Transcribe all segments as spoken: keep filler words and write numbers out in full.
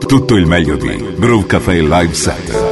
Tutto il meglio di Groove Café Live Set.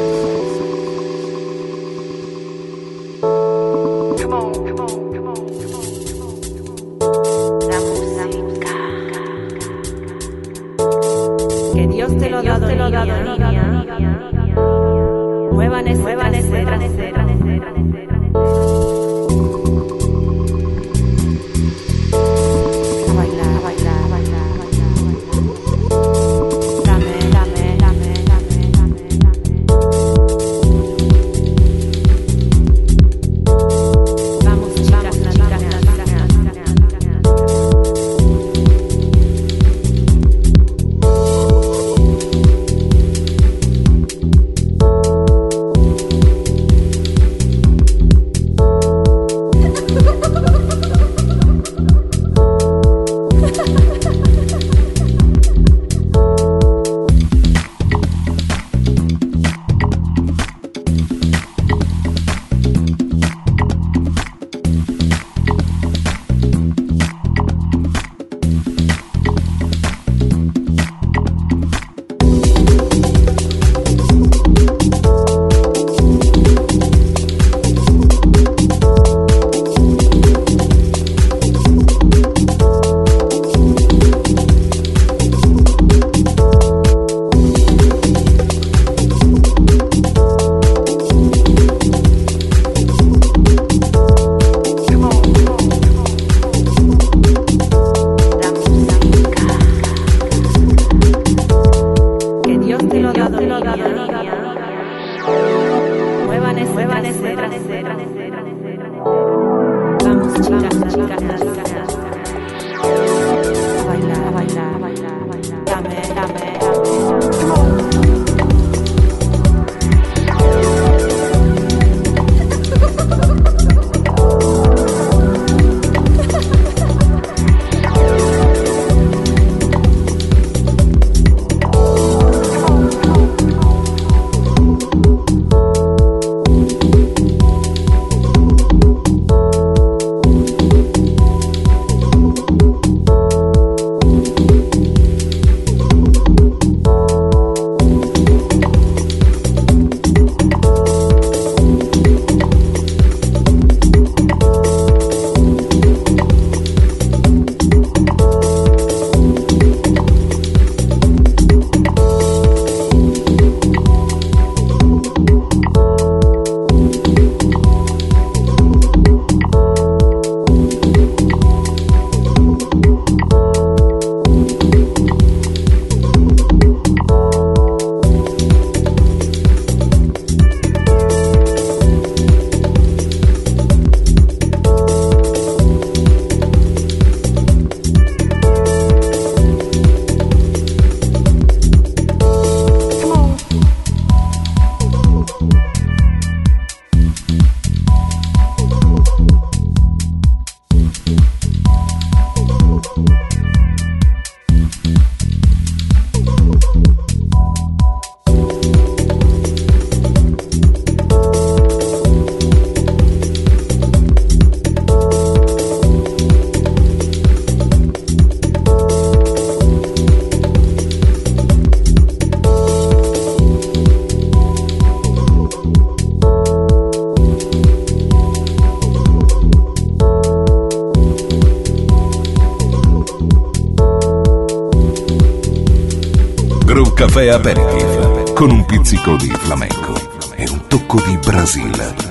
Caffè Aperitif con un pizzico di flamenco e un tocco di Brasile.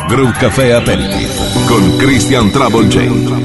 Groove Café Aperitif con Christian Trouble J.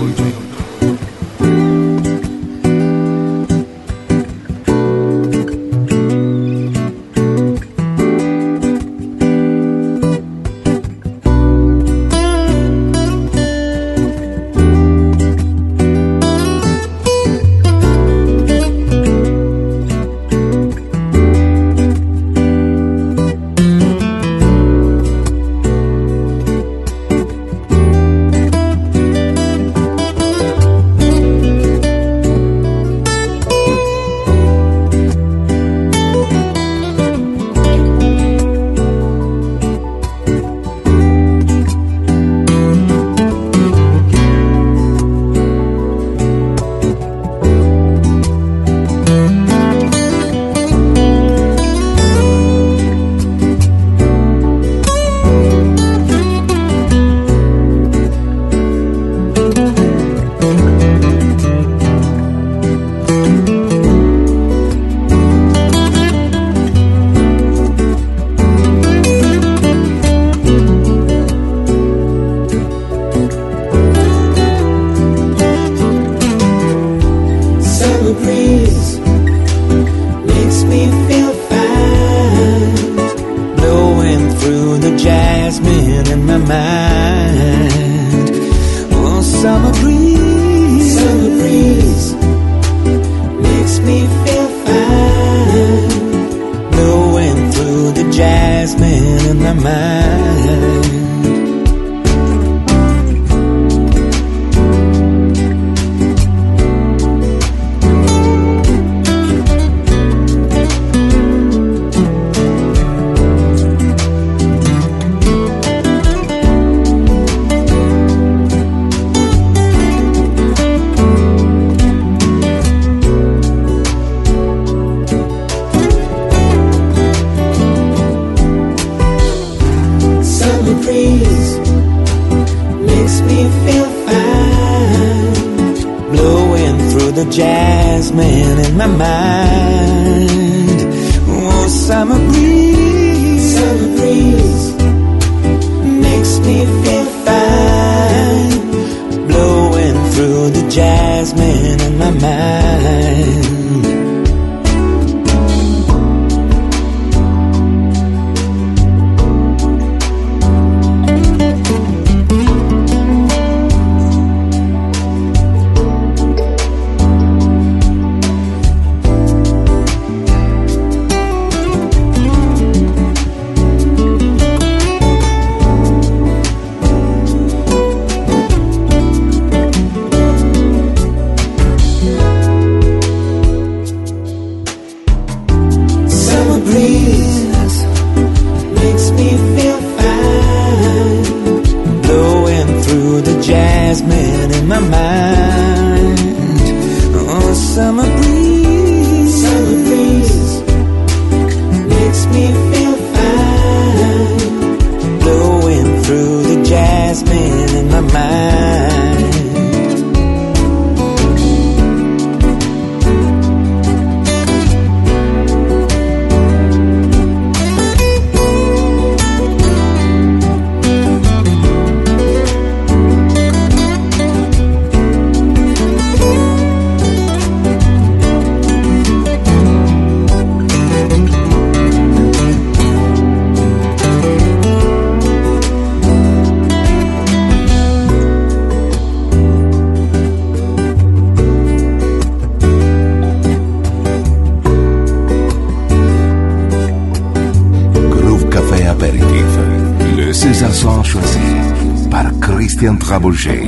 Choisi par Christian Trouble J.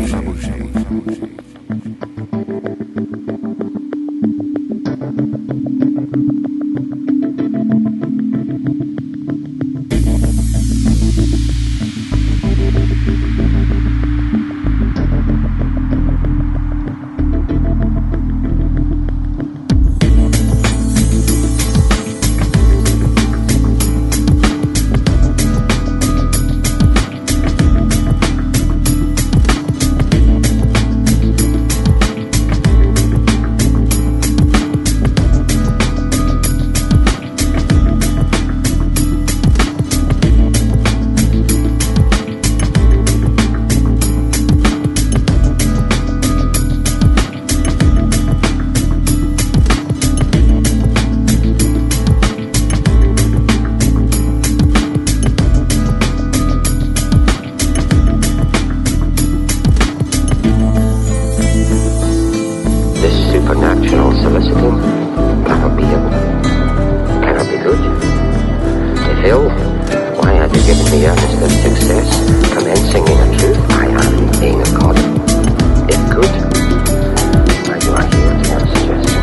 Phil, why have you given me earnest of success? Commencing in a truth, I am being a god. If good, why do I yield to your suggestion?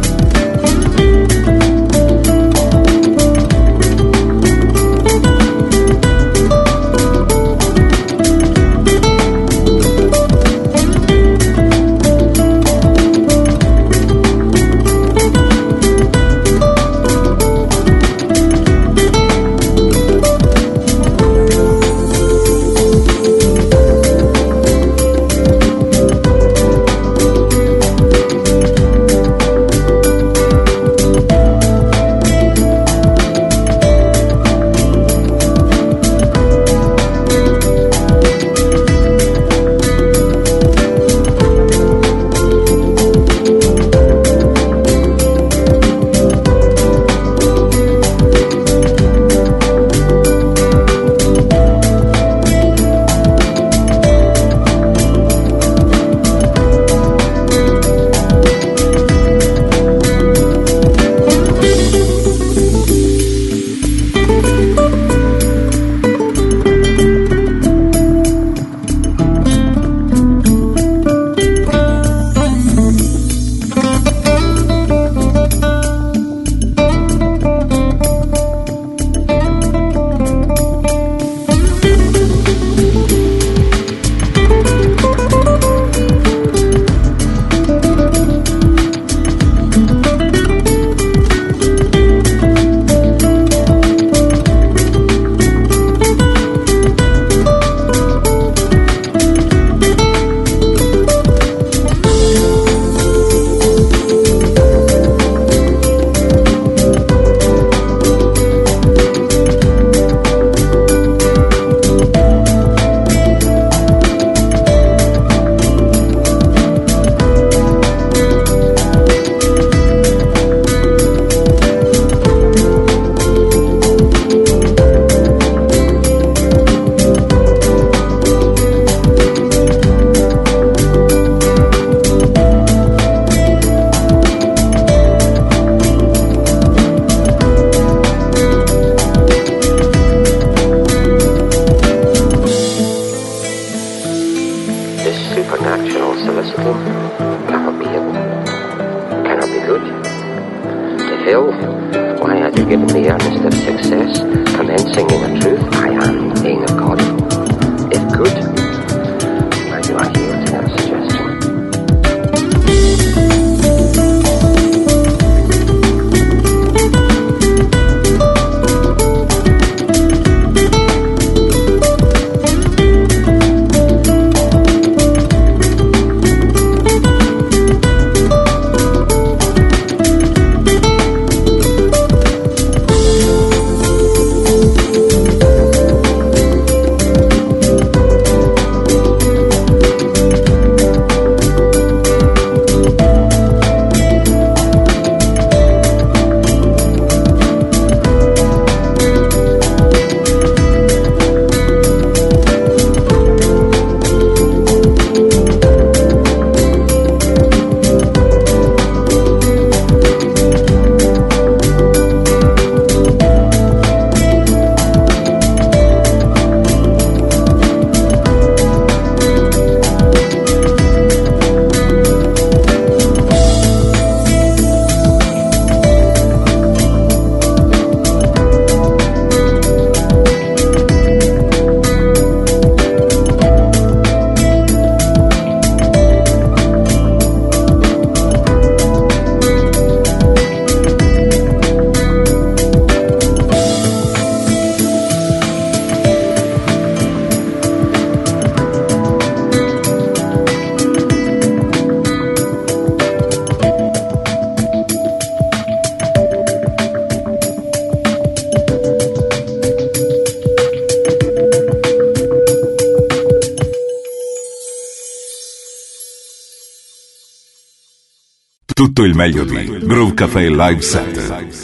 Tutto il meglio di Groove Café Live Set.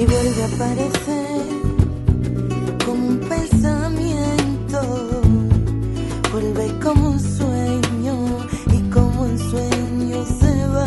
y vuelve a aparecer como un pensamiento, vuelve como un sueño y como un sueño se va.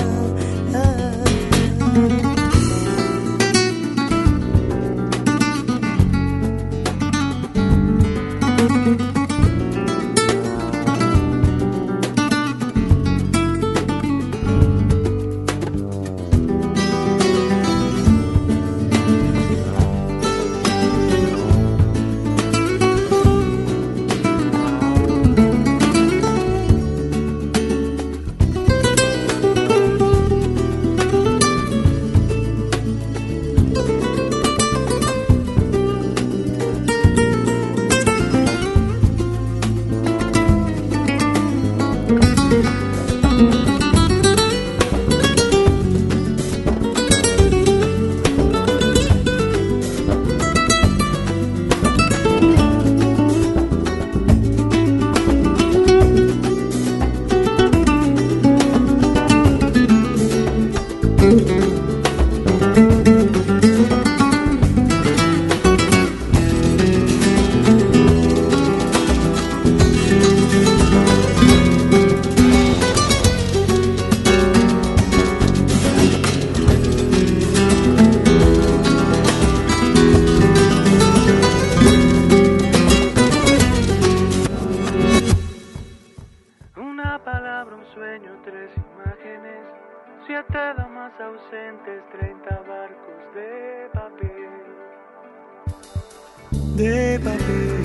De papel.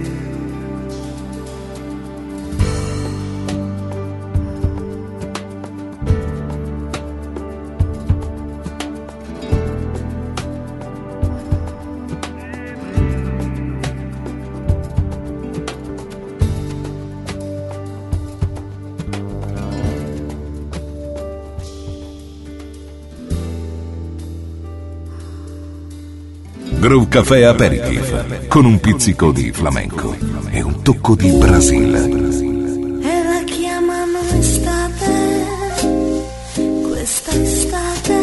Groove Café Aperitif con un pizzico di flamenco e un tocco di Brasile. E la chiamano estate, questa estate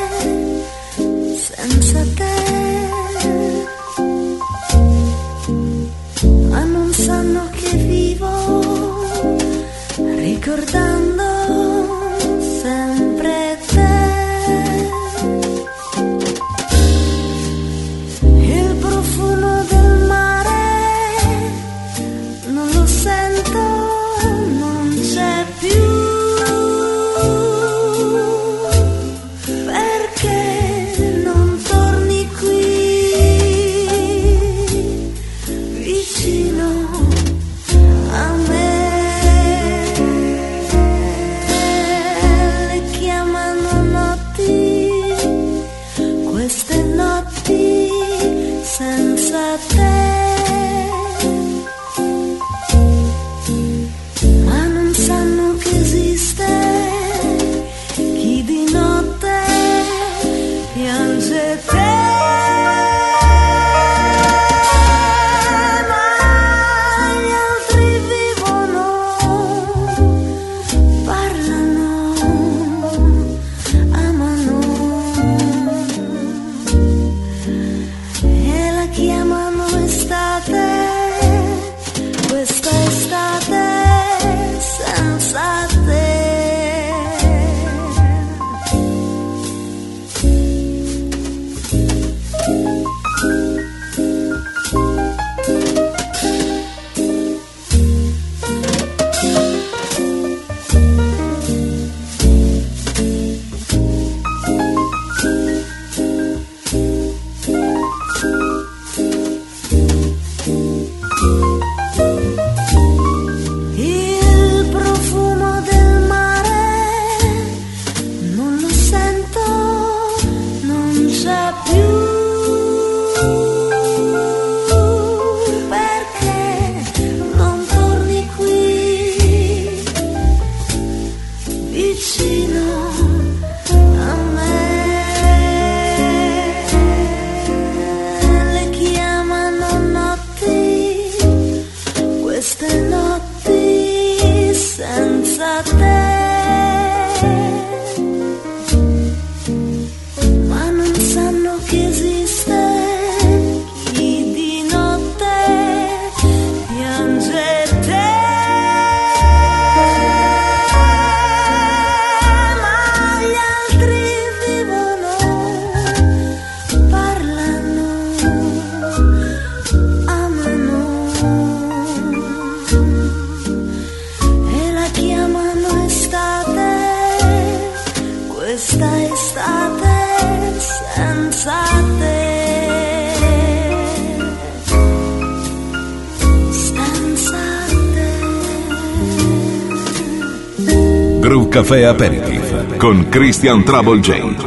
senza te, ma non sanno che vivo ricordando sempre te. Il profumo del mare non lo sento Café Aperitif con Christian Trouble J.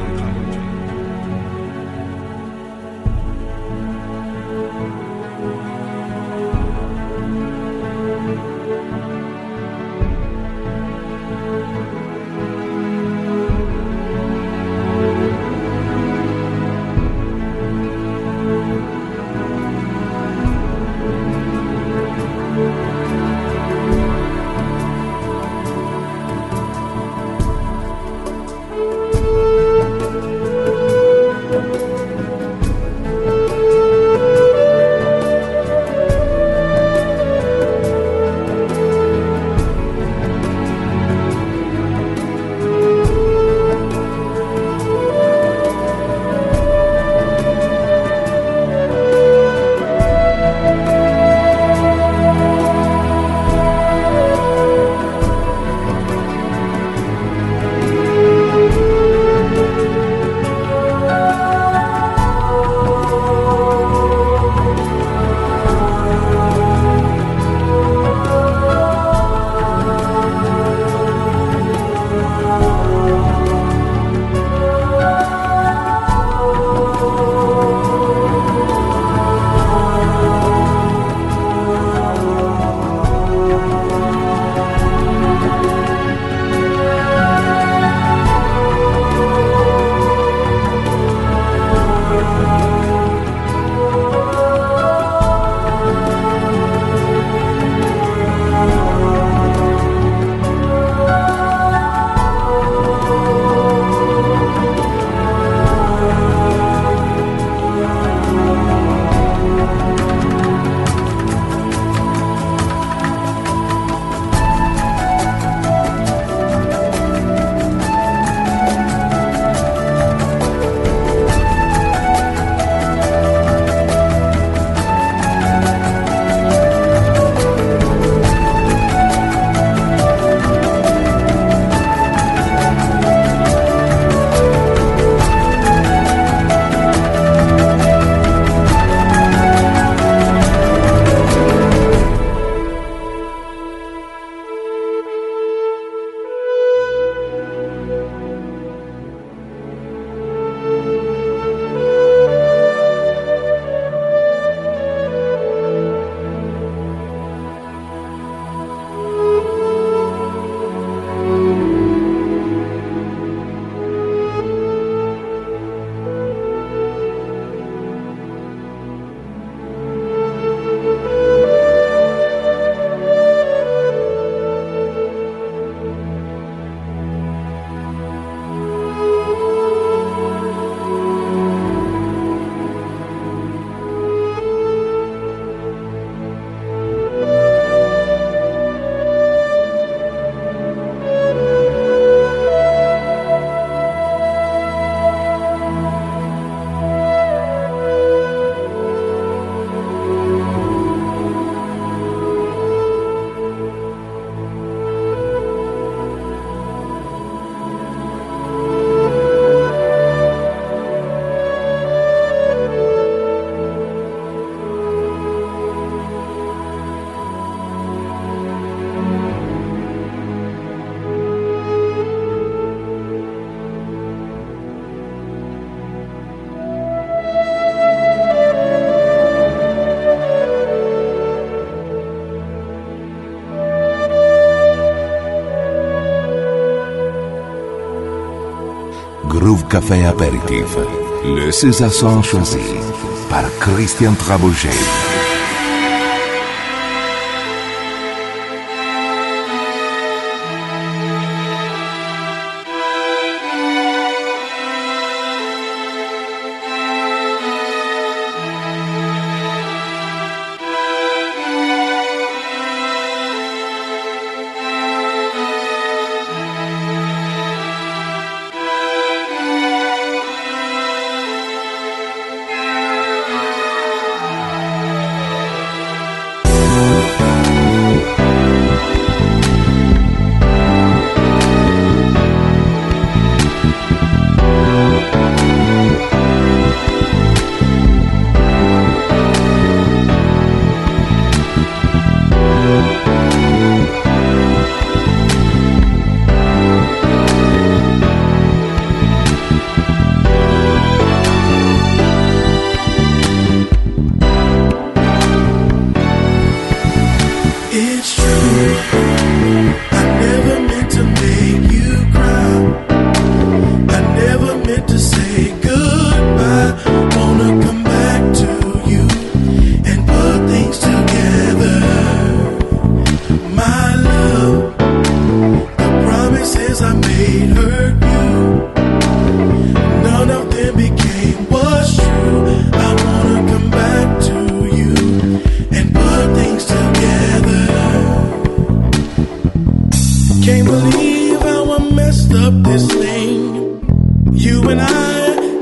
Groove Café Aperitif, le César choisi par Christian Trouble J.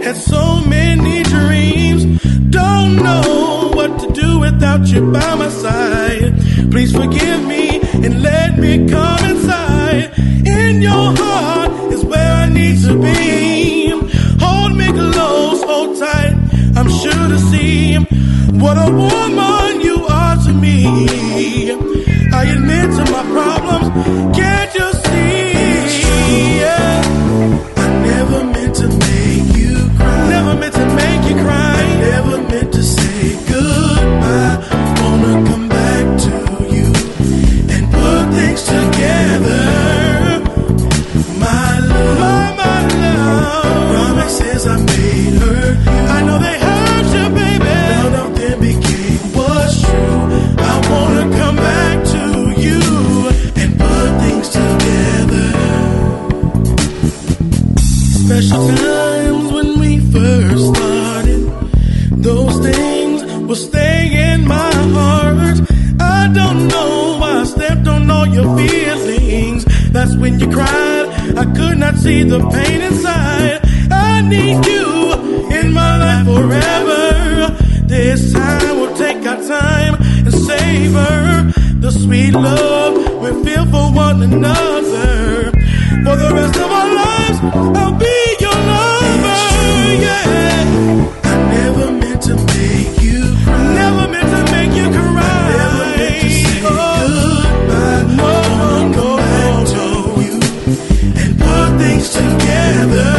Had so many dreams, don't know what to do without you by my side. Please forgive me and let me come inside. In your heart is where I need to be. Hold me close, hold tight. I'm sure to see what a woman you are to me. I admit to my problems, can't you see? Yeah. I never meant to make you cry. Never meant to make you cry. I never meant to say goodbye. Wanna come back to you and put things together. My love, my, my love. Promises I made hurt you. I know they hurt you, baby. Now nothing became what's true. I wanna come back to you and put things together. Special times when we first started, those things will stay in my heart. I don't know why I stepped on all your feelings. That's when you cried, I could not see the pain inside. I need you in my life forever. This time we'll take our time and savor the sweet love we feel for one another. For the rest of our lives, I'll be your lover, yeah. I never meant to make you cry. Never meant to make you cry. I never meant to say oh, goodbye. No, no, no, back to you and put things together.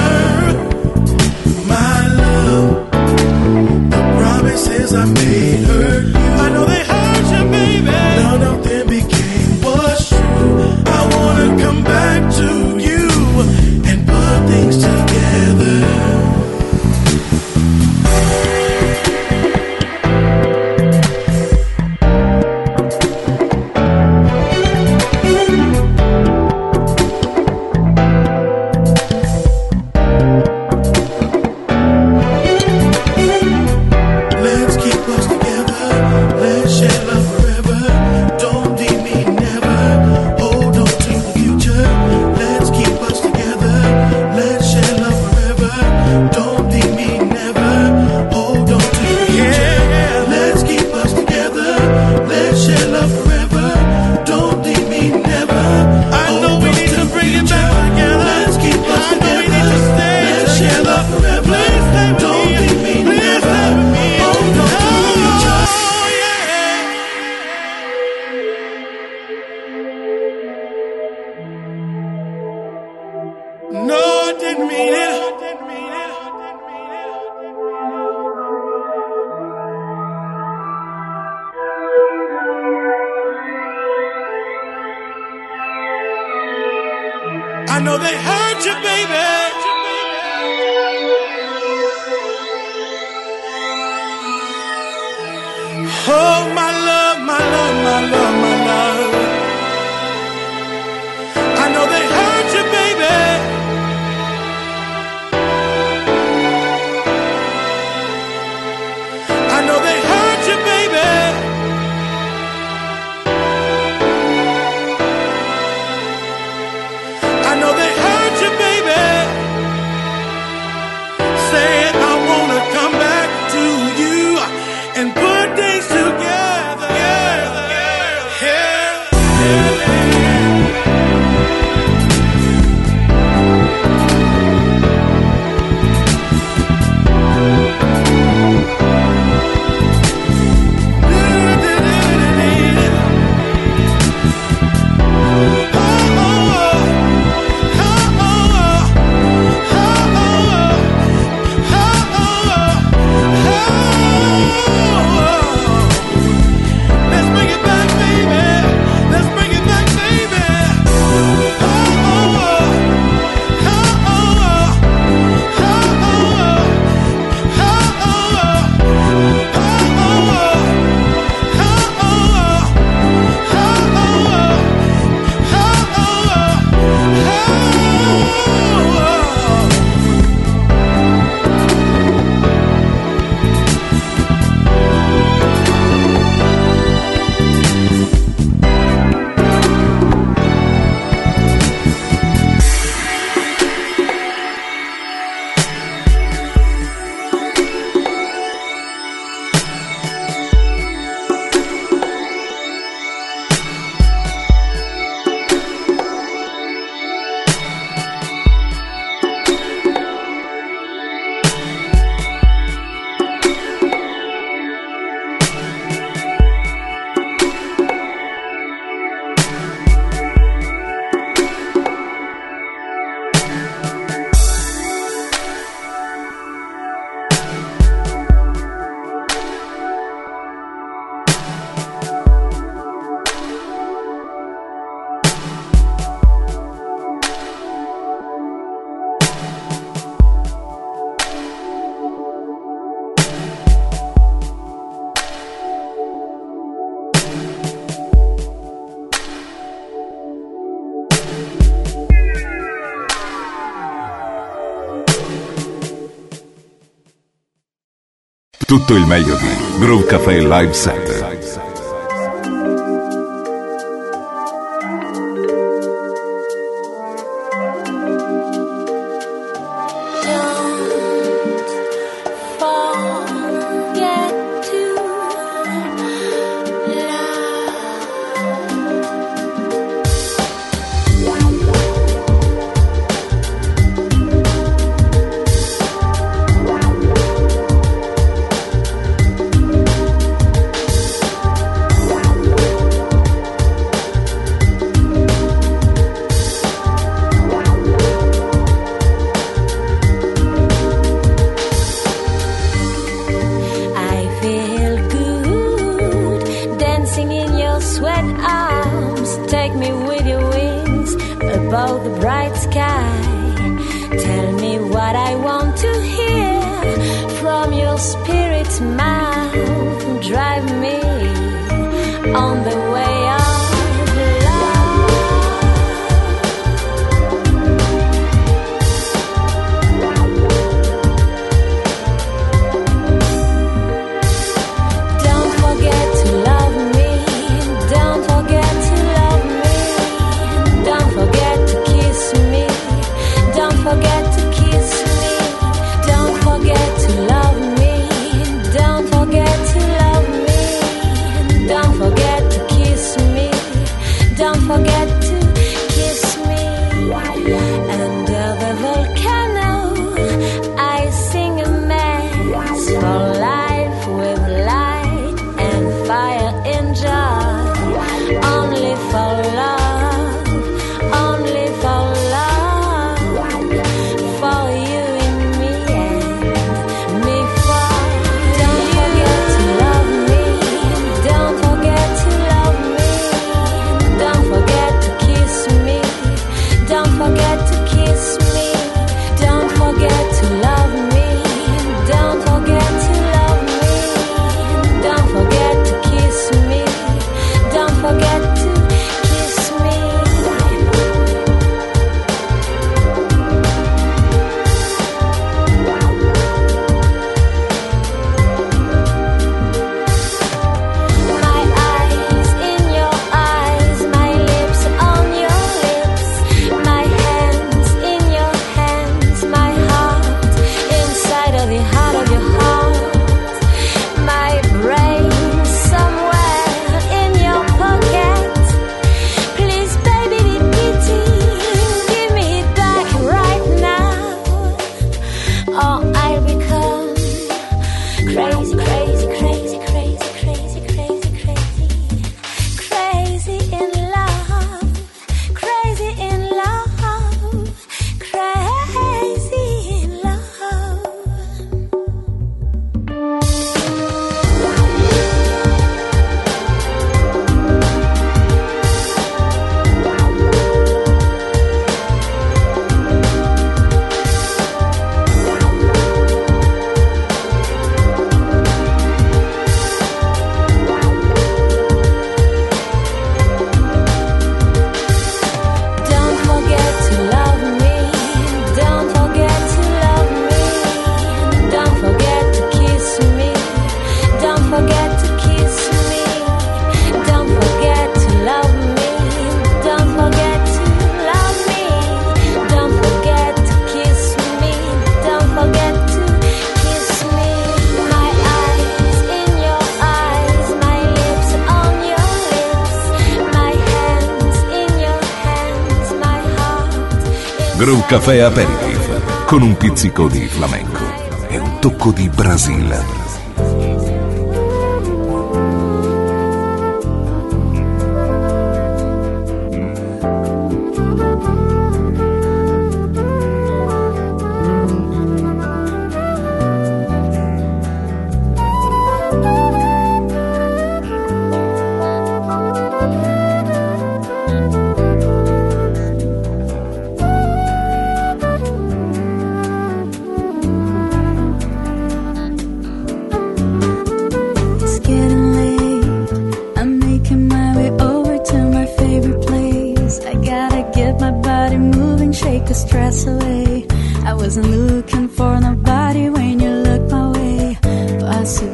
My love, the promises I made hurt you. I know they hurt you, baby. None of them became what's true. I wanna come back to you and put things together. Let's keep us together. Let's share love forever. Don't leave me never. Hold on to the future. Let's keep us together. Let's share love forever. Don't leave me never. Hold on to the future. Let's keep us together. Let's share love forever. Don't leave me never. I know we need to bring it back together. Let's keep us together. Let's share love forever. Please stay with me. Don't leave me never. Hold on to the future. No, I didn't mean it. I know they hurt you, baby. Oh, my love, my love, my love, my love. I know they hurt you, baby. I know they hurt you, baby. I know they hurt you, baby. Saying I wanna come back to you and put things together. Tutto il meglio di Groove Café Live Set. Groove Café Aperitif con un pizzico di flamenco e un tocco di Brasile. Wasn't looking for nobody when you looked my way, but I see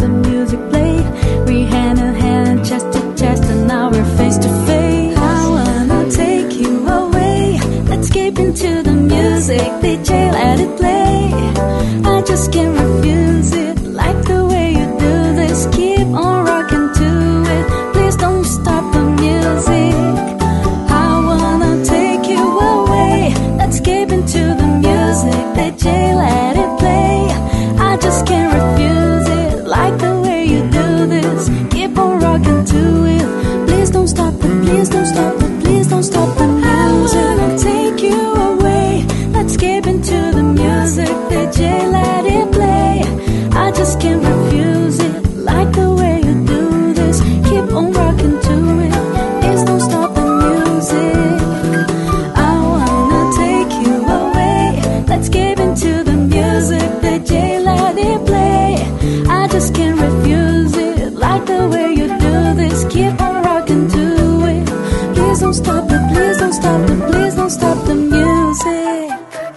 the music played. We hand in hand, chest to chest, and now we're face to face. I wanna take you away. Let's escape into the music. D J, let it play. I just can't refuse it. Like the way you do this. Keep on rocking to it. Please don't stop the music. I wanna take you away. Let's escape into the music. D J, let it play. I just can't refuse it. Like the way you do this. Keep on rocking to it. Please don't stop it. Please don't stop it. Please don't stop the music. I wanna take you away. Let's escape into the music. D J, let it play. I just can't refuse it. Like the way you do this. Keep on rocking to it. Please don't stop the music. I wanna take you away. Let's escape into the music. D J, let it play. I just can't refuse it. Like the way you do this. Keep on rocking to it. Please don't stop it. Please don't stop it. Please don't stop the music.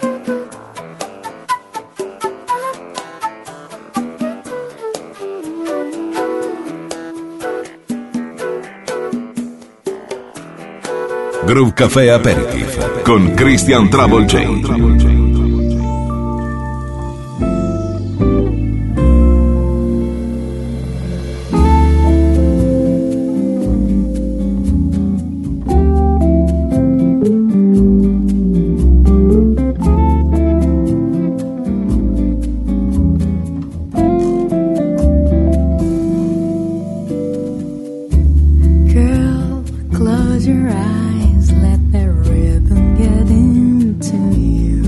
Groove Café Aperitif con Christian Trouble J. Girl, close your eyes, let the rhythm get into you.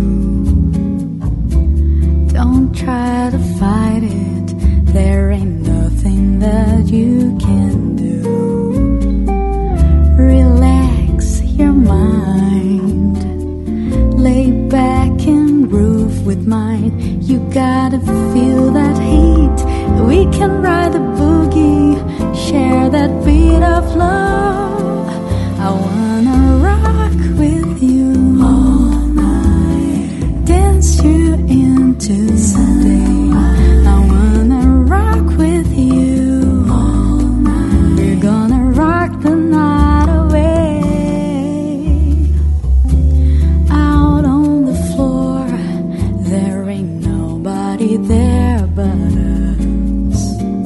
Don't try to fight it, there ain't nothing that you can do. Relax your mind, lay back and groove with mine. You gotta feel that heat, we can ride the boogie, share that beat of love. I wanna rock with you all night, dance you into the day. I wanna rock with you all night. We're gonna rock the night away. Out on the floor, there ain't nobody there but us.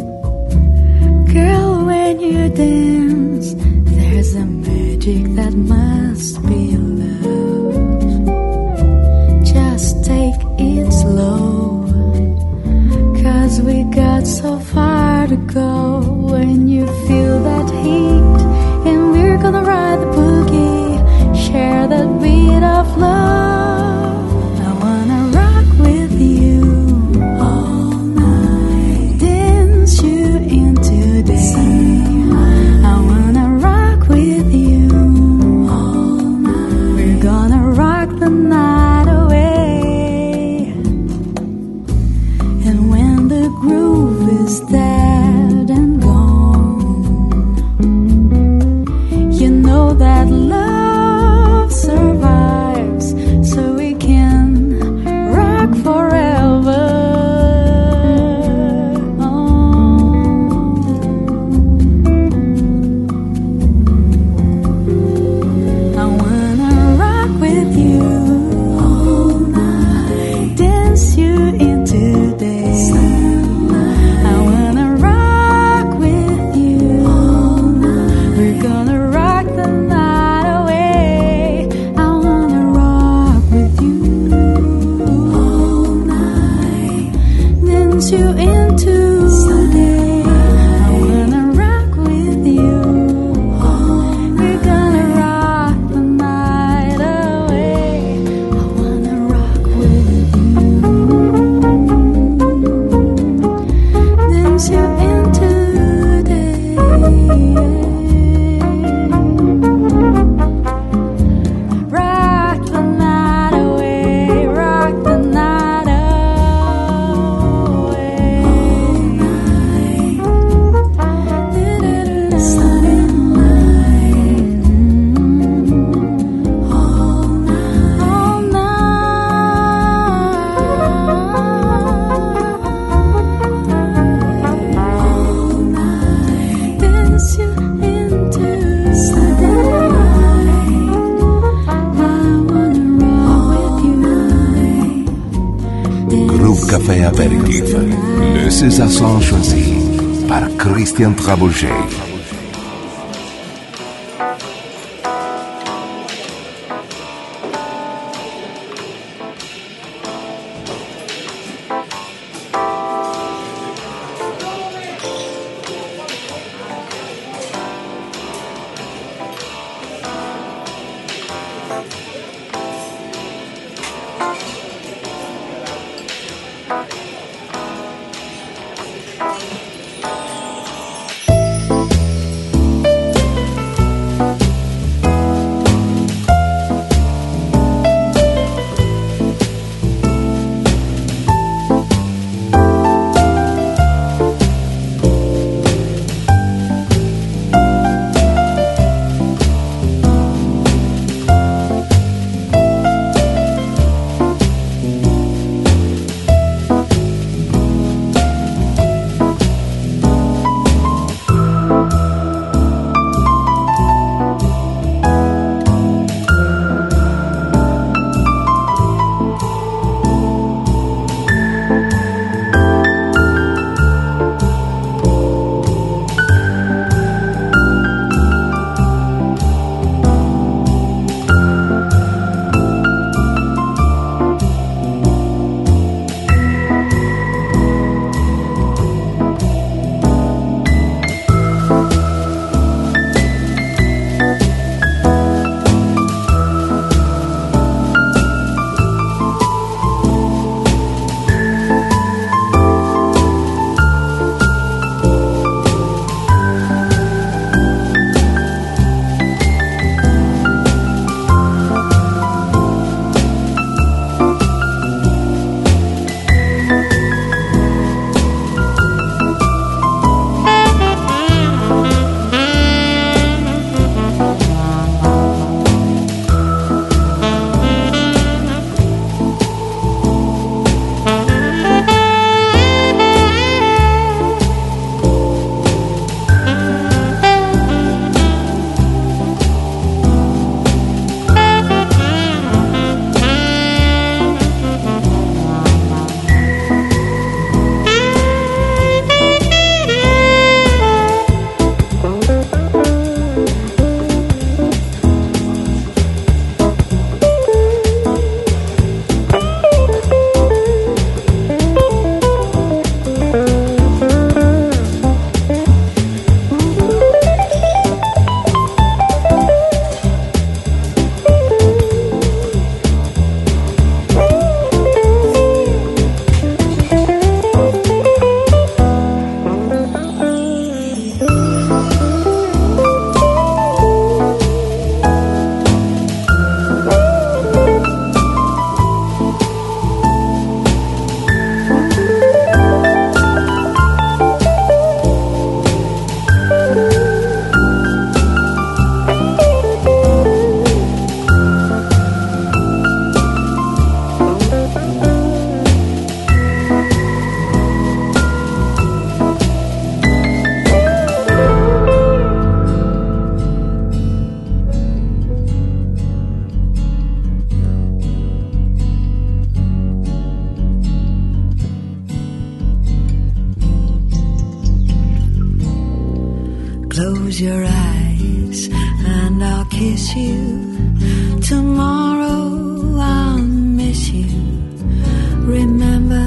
Girl, when you dance, there's a magic that must be love. Just take it slow, 'cause we got so far to go. When you feel that heat, and we're gonna ride the boogie, share that beat of love. I wanna rock with you all night, dance you into day. I wanna rock with you all night. We're gonna rock the night away. And when the groove is dead and gone, you know that love survives, so we can rock forever. I wanna rock with you all night, dance you into day. I wanna rock with you all night. We're gonna rock the night away. I wanna rock with you all night, dance you into day. I wanna rock with you. We're gonna rock the night away. I wanna rock with you. Dance you into day. Rock the night away. Rock the night away. Groove Café Apéritif. Le César choisi par Christian Trabouget. Close your eyes and I'll kiss you. Tomorrow I'll miss you. Remember,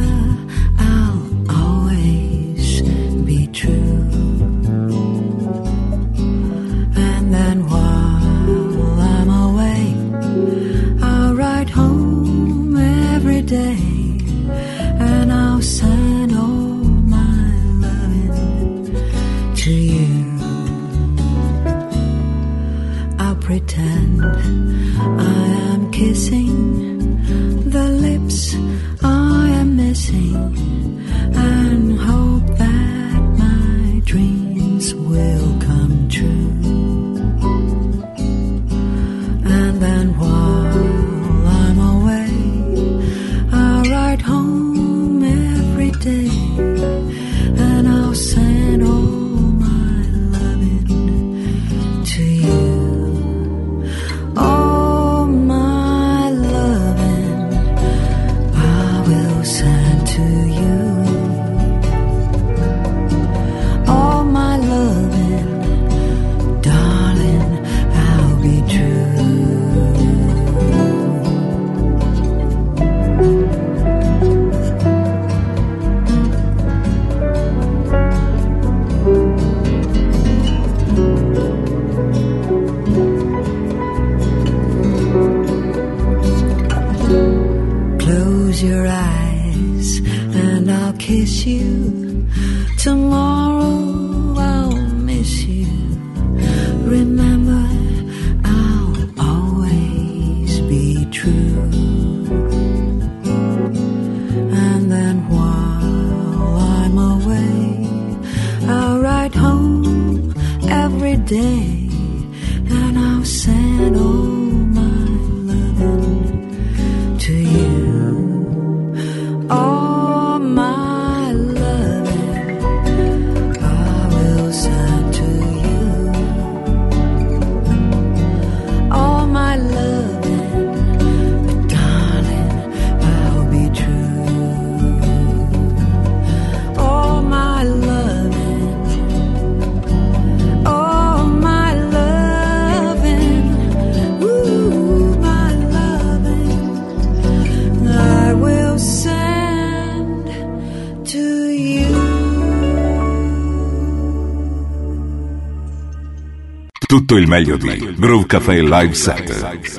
I'll always be true. And then while I'm away, I'll ride home every day. And I'll send all my loving to you. I'll pretend I am kissing the lips I am missing, and hope that my dreams will come true. And then while I'm away, I'll ride home every day, and I'll send all my loving to you. All my loving I will send. to you. All my loving, darling, I'll be true. Close your eyes and I'll kiss you. Tomorrow I'll miss you. Remember, I'll always be true. And then while I'm away, I'll write home every day, and I'll send all my loving to you. All my loving I will send to you. All my loving, but darling, I'll be true. All my loving, all my loving, ooh, my loving, I will send to you. Tutto il meglio di Groove Café Live Set.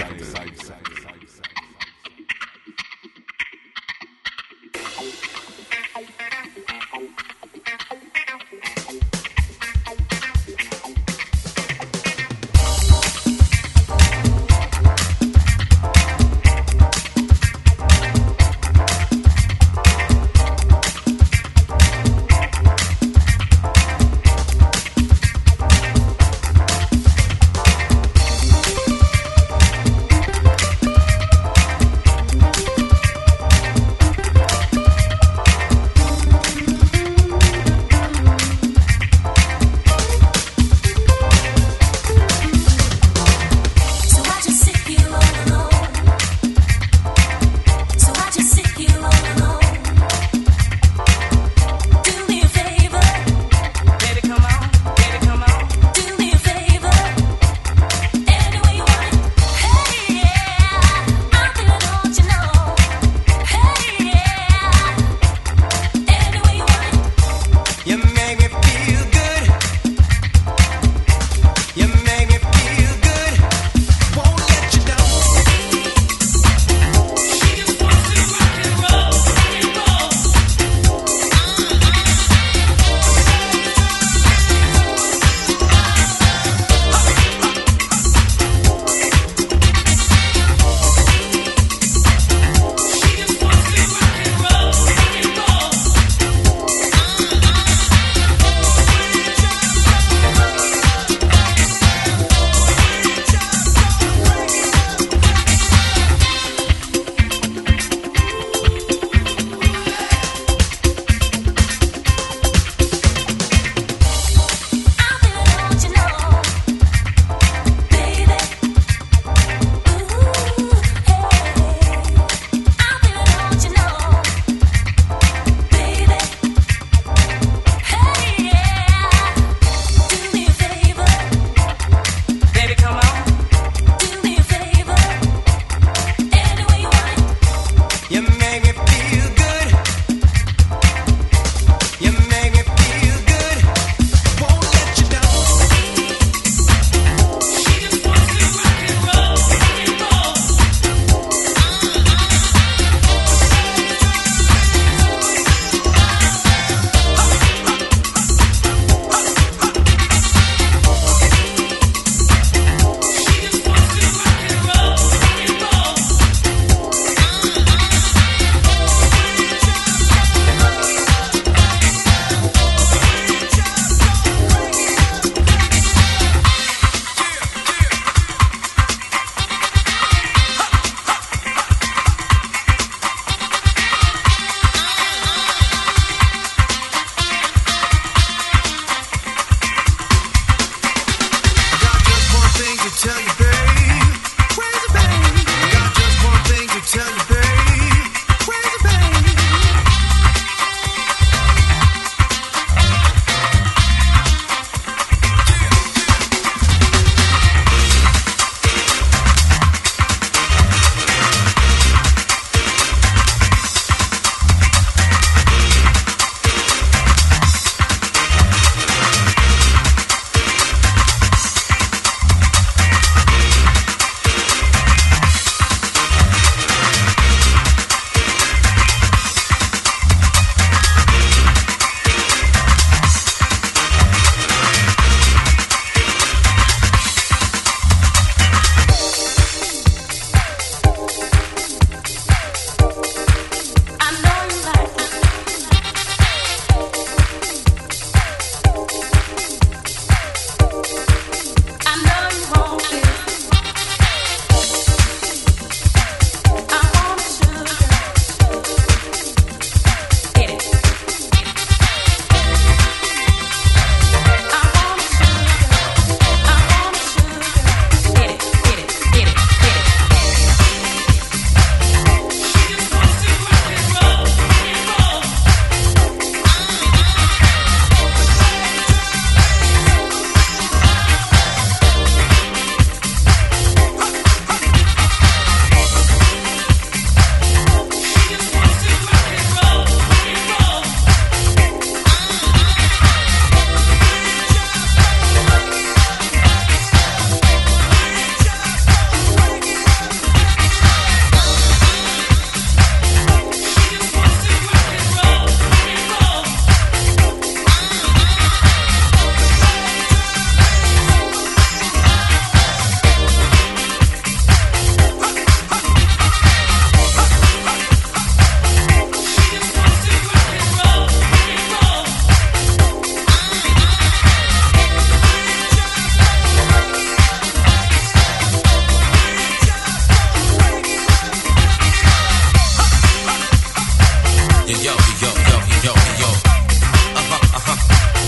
yo, yo, yo, yo. Uh-huh, uh-huh.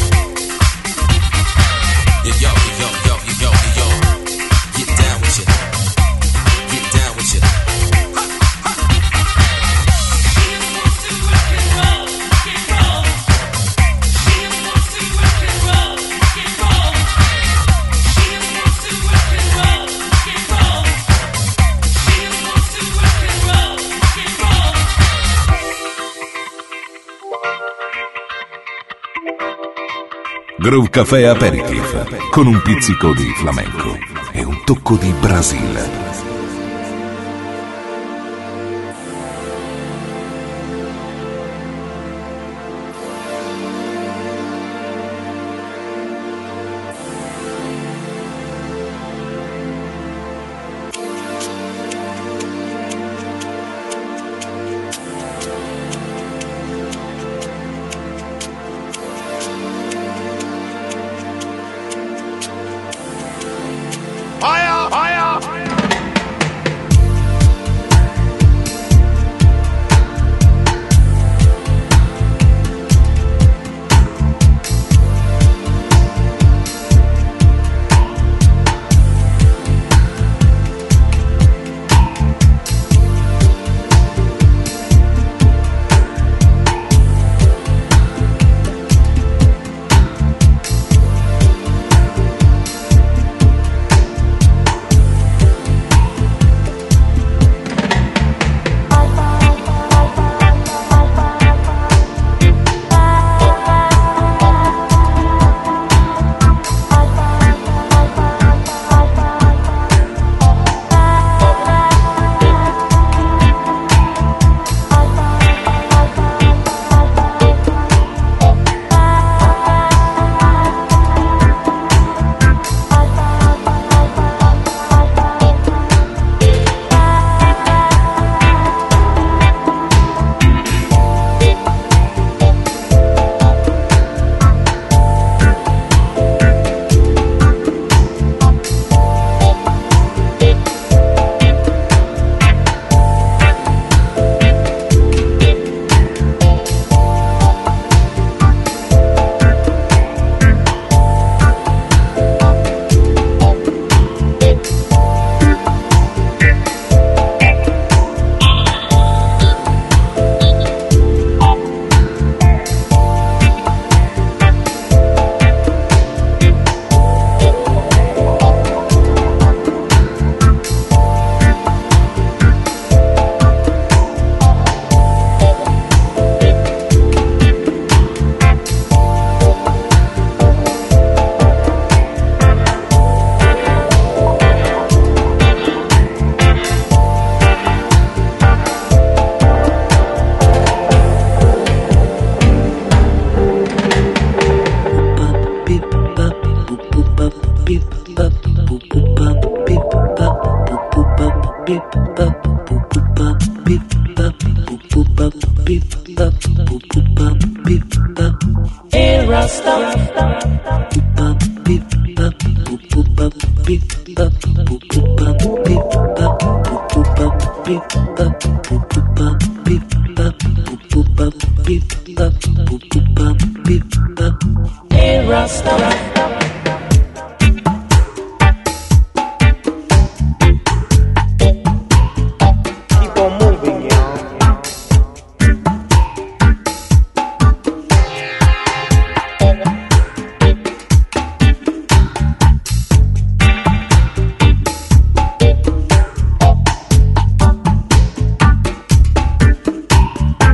Yo, yo, yo, yo, yo, yo. Get down with you. Get down with you. Groove Café Aperitif con un pizzico di flamenco e un tocco di Brasile.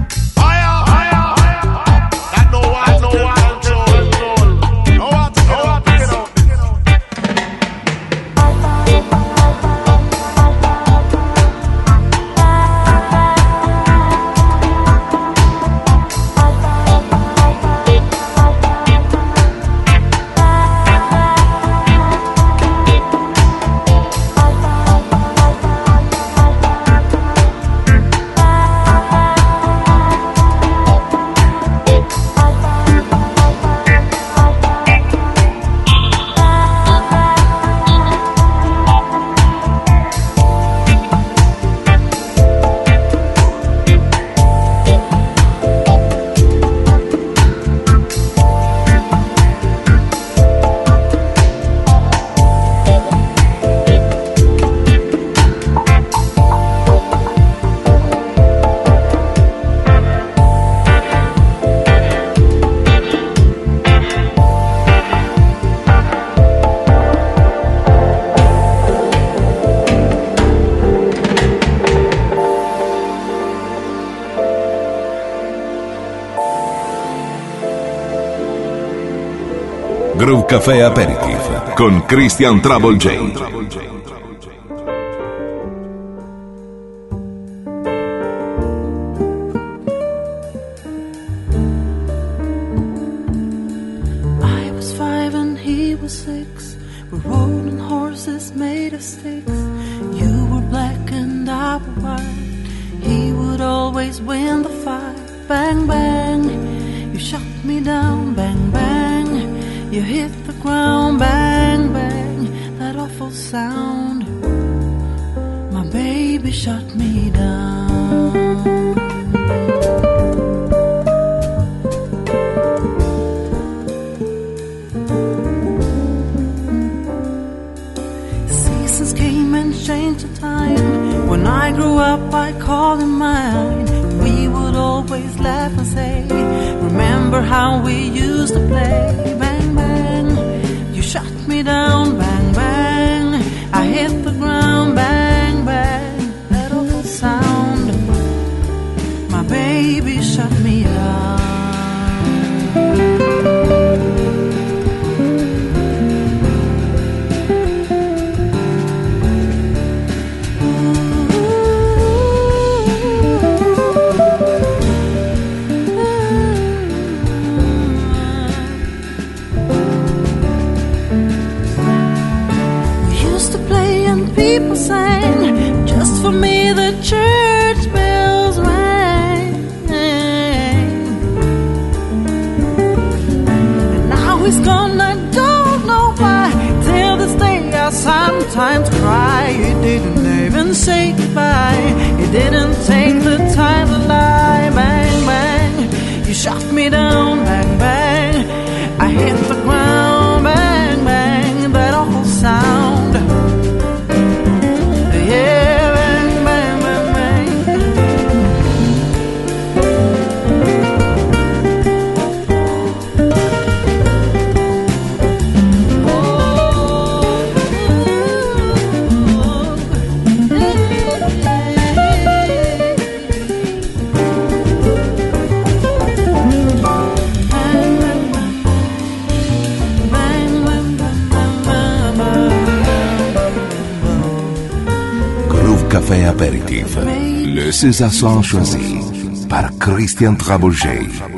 No Groove Café Aperitif con Christian Trouble J. Sometimes cry, he didn't even say goodbye. He didn't take the time to lie. Bang, bang, you shot me down. Bang, bang, I hit the ground. Bang, bang, that awful sound. Yeah, bang, bang, bang, bang. Café Apéritif, le César Son choisi par Christian Trouble J.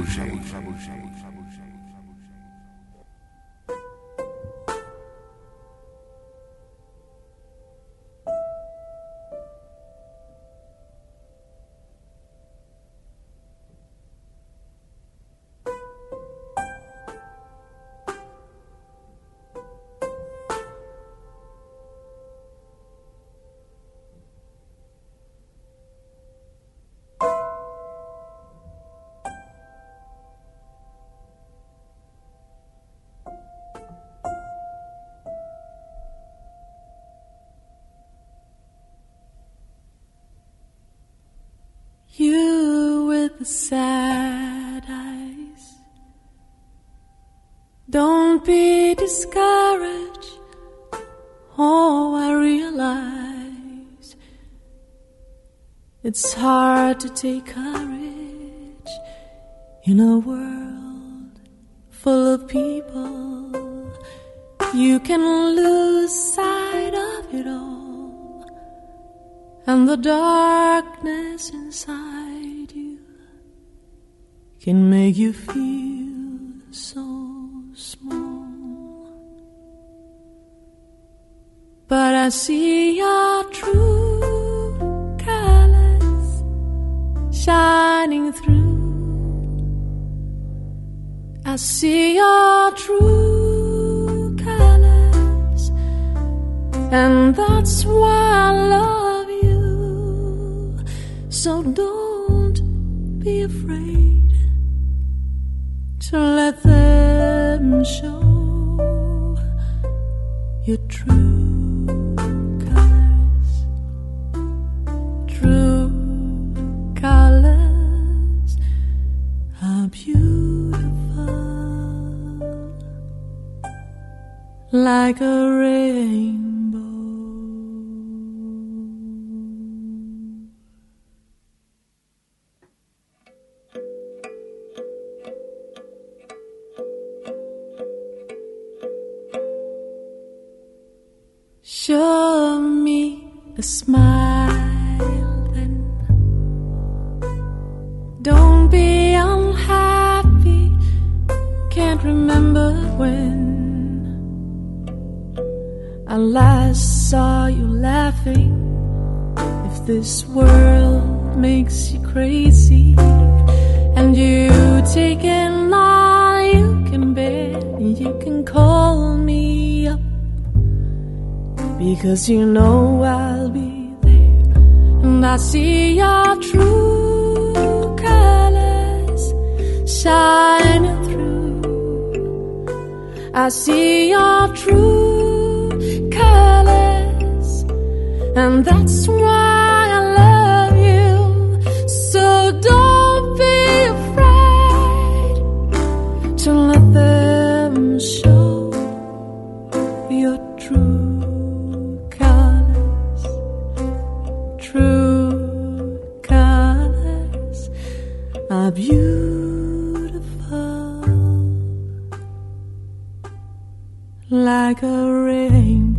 You with the sad eyes, don't be discouraged. Oh, I realize it's hard to take courage in a world full of people. You can lose sight of it all, and the darkness inside you can make you feel so small. But I see your true colors shining through. I see your true colors, and that's why I love you. So don't be afraid to let them show your true colors. True colors are beautiful, like a rainbow. a smile then. Don't be unhappy, can't remember when I last saw you laughing. If this world makes you crazy and you taking all you can bear, you can call me up, because you know I'll be there. And I see your true colors shining through. I see your true colors, and that's why I love you. So don't be afraid to let them show your true colors. True colors are beautiful, like a rainbow.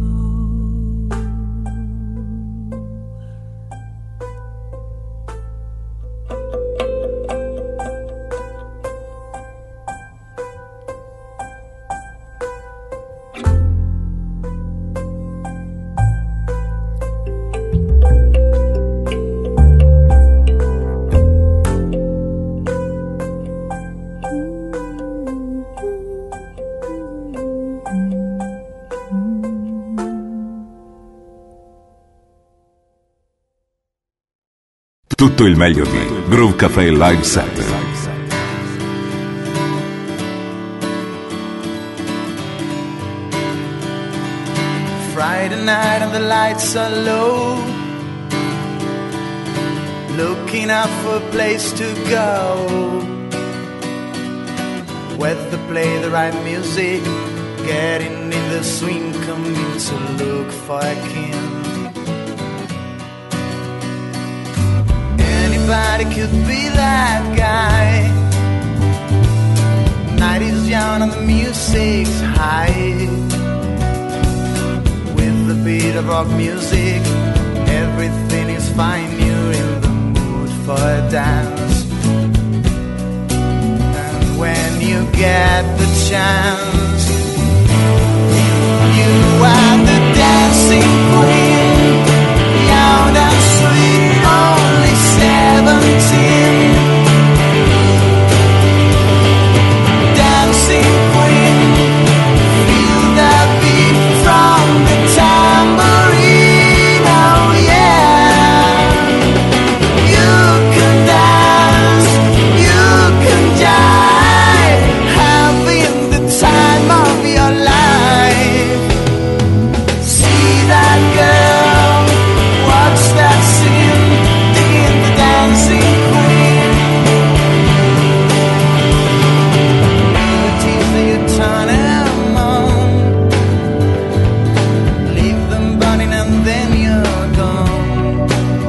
Tutto il meglio di Groove Café Live Set. Friday night and the lights are low, looking out for a place to go, where to play the right music, getting in the swing, coming to look for a king. Anybody could be that guy. Night is young and the music's high. With the beat of rock music, everything is fine. You're in the mood for a dance. And when you get the chance, you are the dancing queen, young and sweet, only seventeen. Dancing queen, feel the beat from the tambourine. Oh yeah, you can dance, you can jive, having the time of your life. See that girl, watch that scene, digging the dancing queen. You tease her, you turn them on, leave them burning and then you're gone.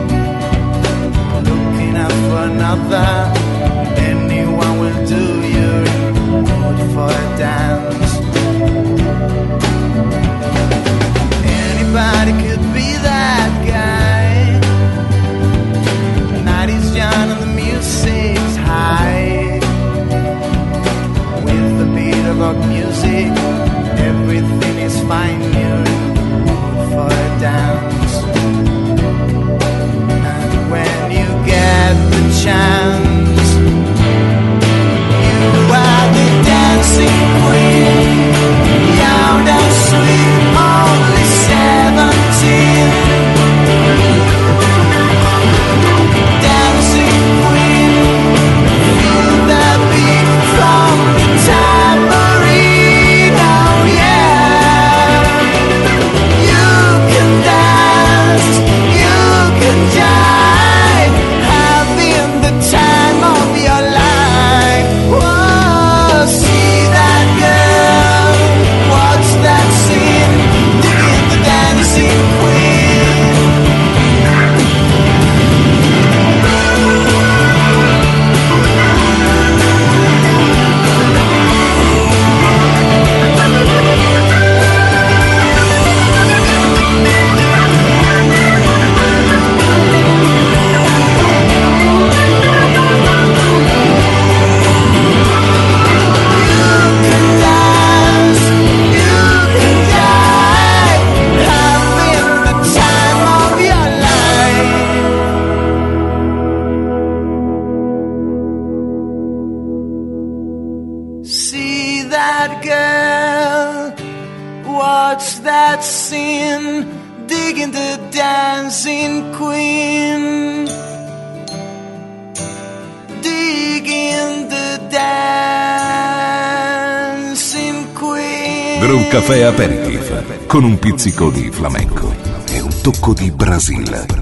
Looking out for another, anyone will do. You're in the mood for a dance. Anybody could be that guy. The night is young and the music's high. With the beat of rock music, everything is fine. You're in the mood for a dance. And when you get the chance, you are the dancing queen, young and sweet, only seventeen. Dancing queen, feel the beat from the tambourine. Oh yeah, that girl? Watch that scene, digging the dancing queen, digging the dancing queen. Groove Café Aperitif con un pizzico di flamenco e un tocco di Brasile.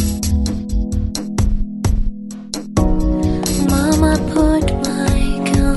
Mama put my gun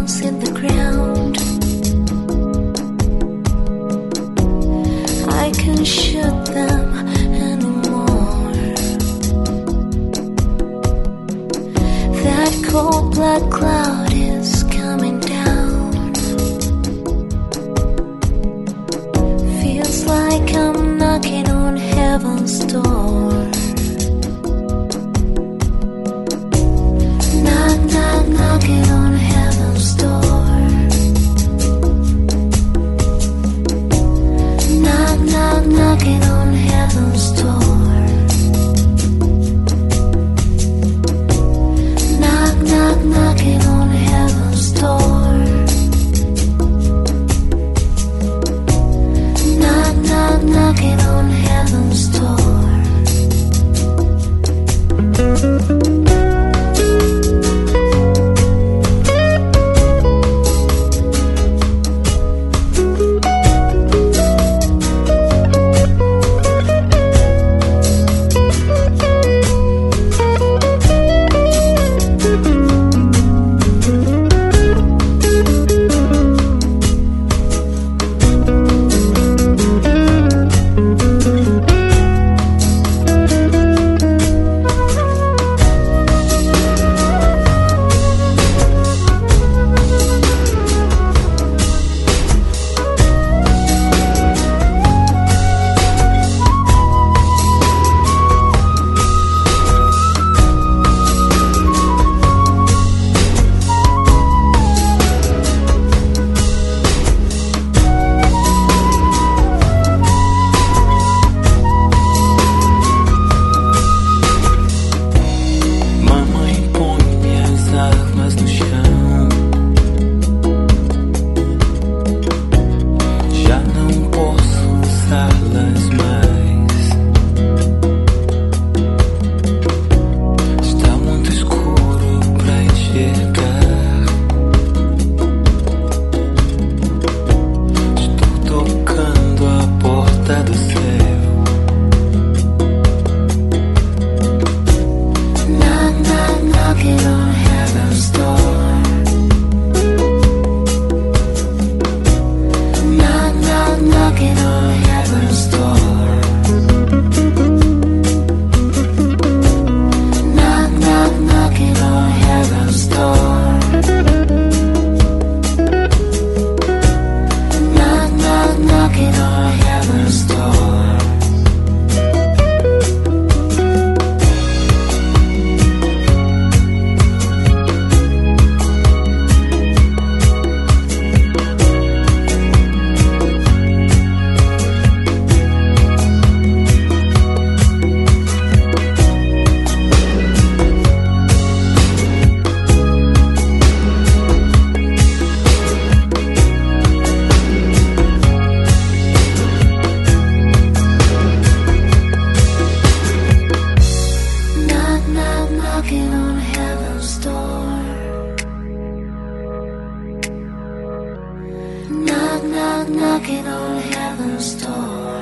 knock, knocking on heaven's door.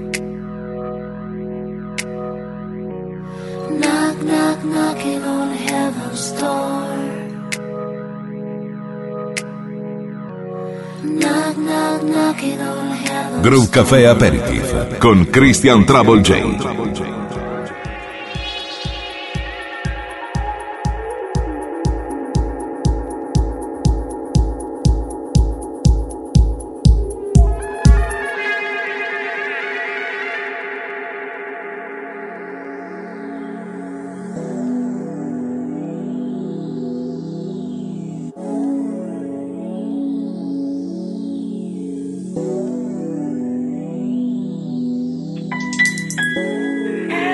Knock, knock, knocking on heaven's door. Knock, knock, knocking on heaven's door. Groove Café Aperitif con Christian Trouble J. Yeah.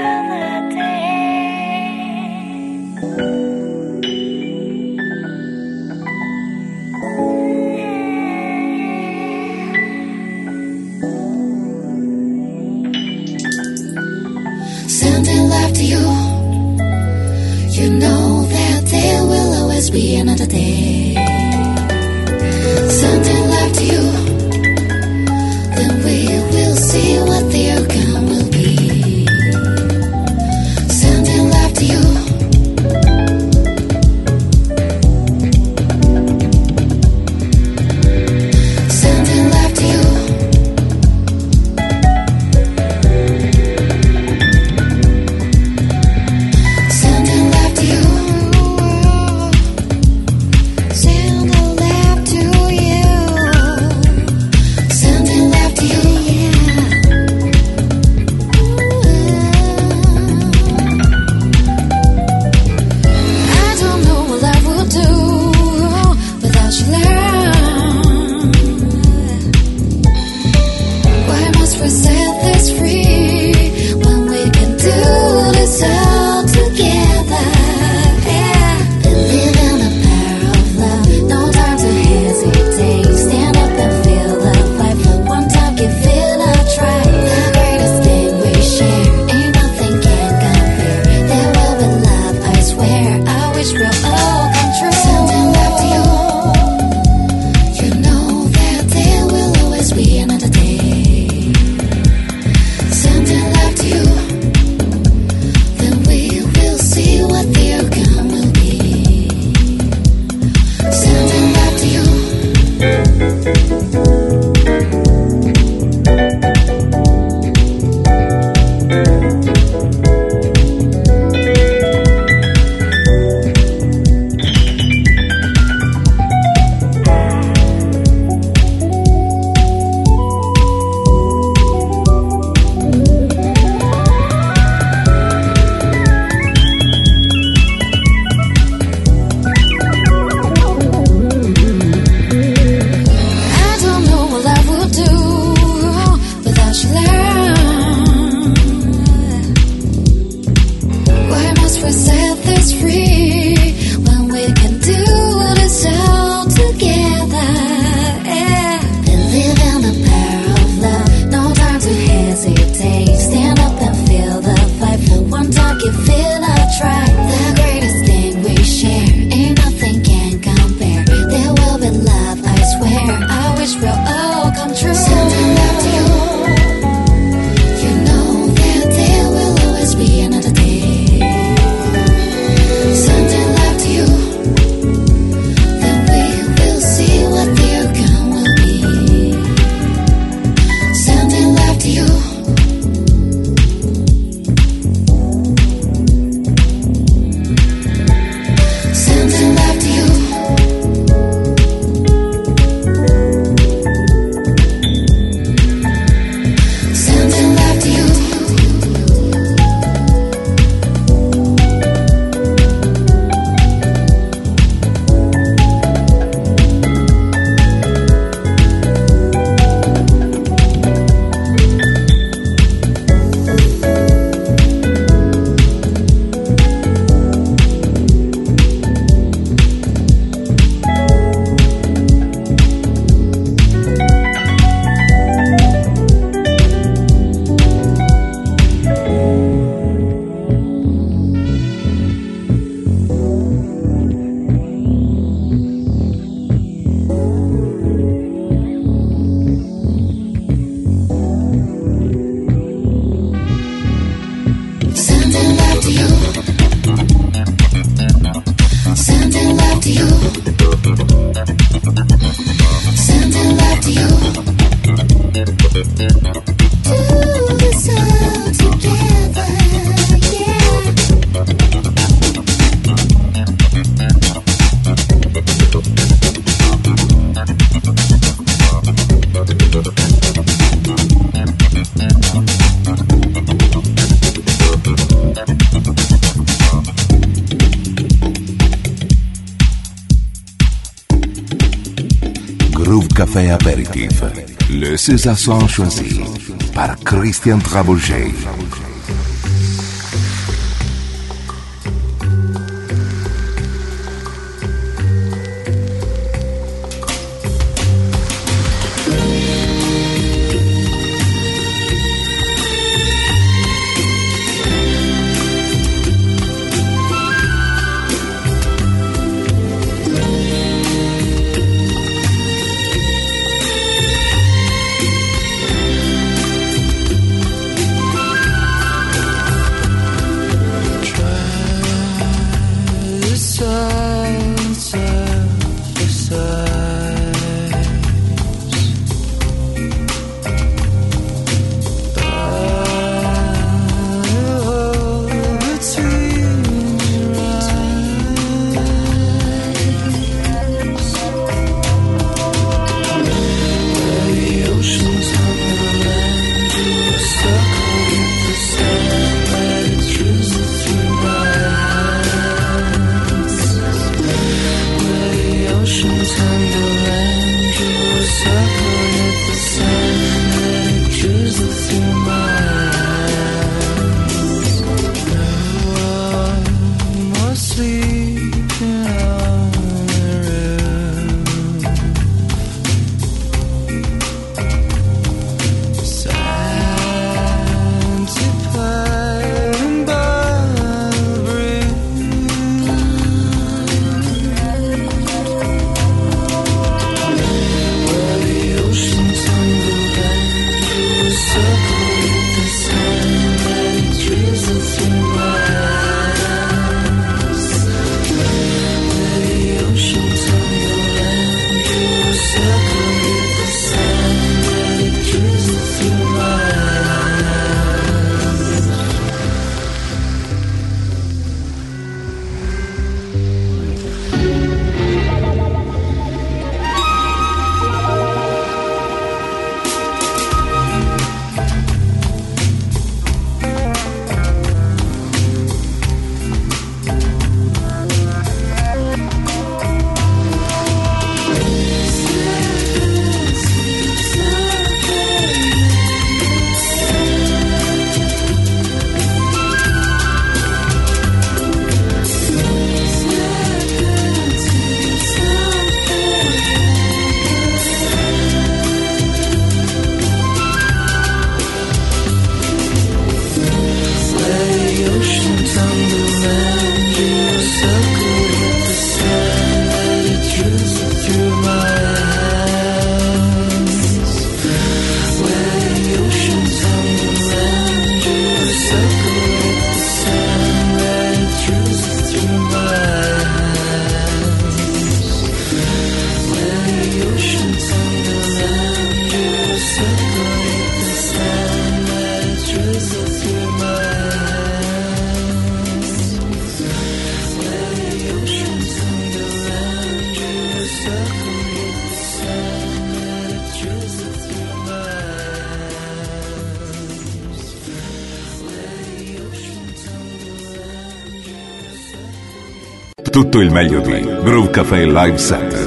Groove Café Apéritif. Le César choisi par Christian Trabouget. Tutto il meglio di Groove Café Live Set.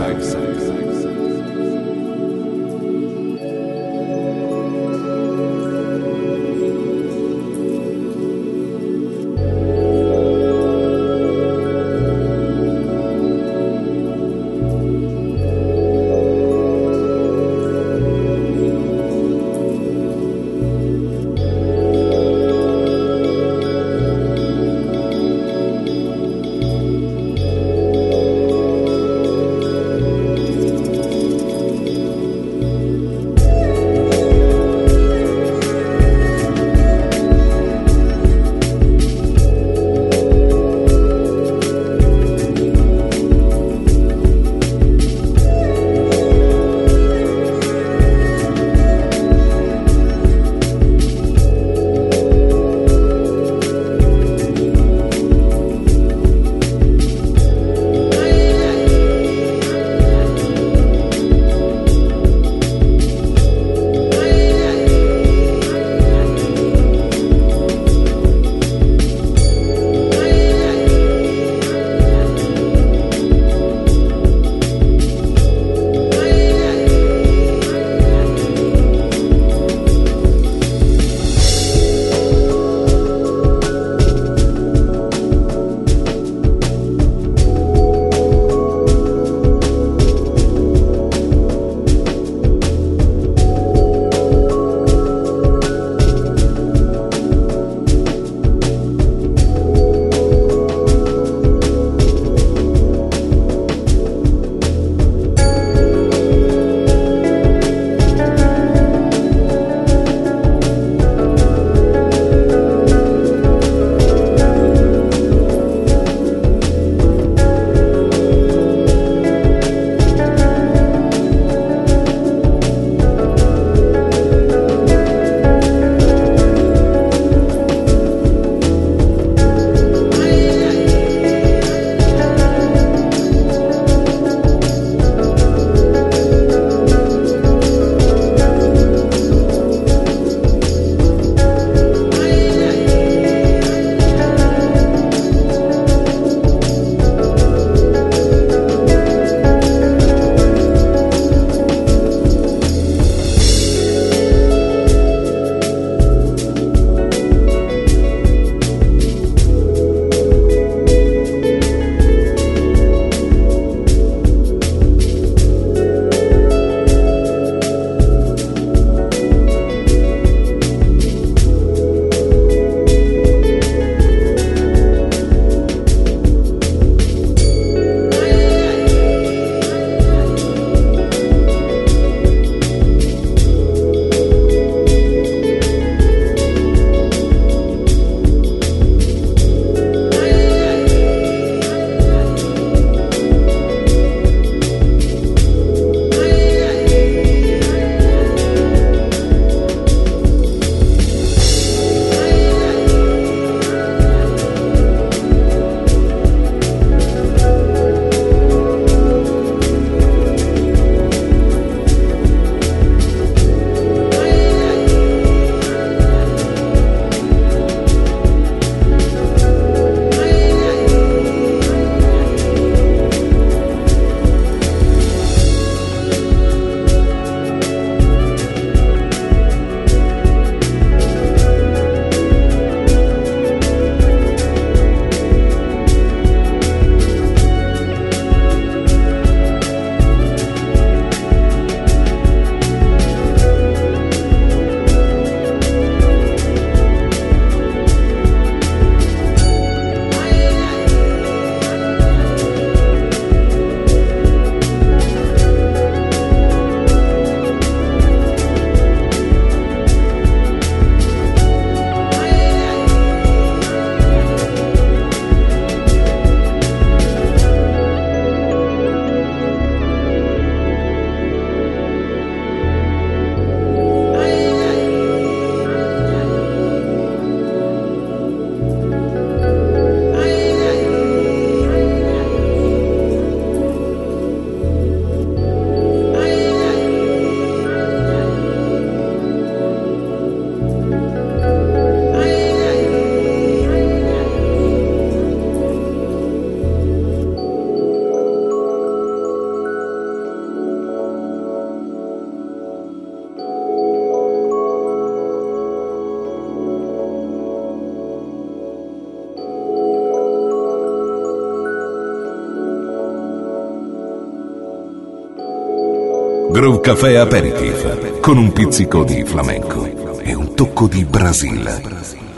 Groove Café Aperitif con un pizzico di flamenco e un tocco di Brasile.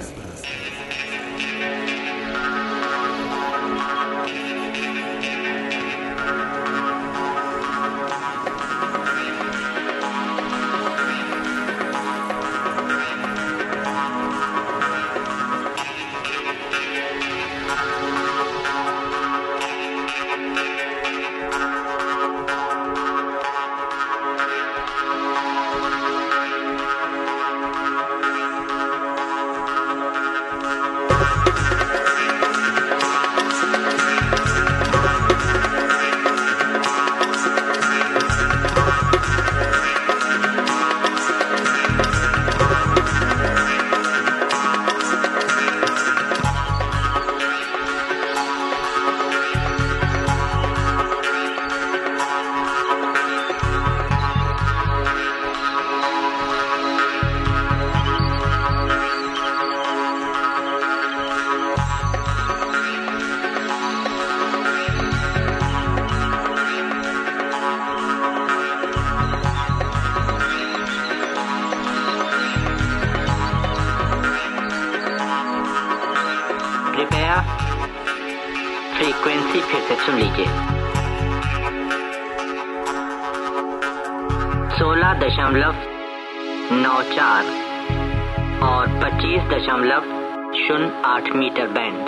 Frequency फिर से सुन लीजिए। सोलह दशमलव नौ चार और पच्चीस दशमलव शून्य आठ मीटर बैंड।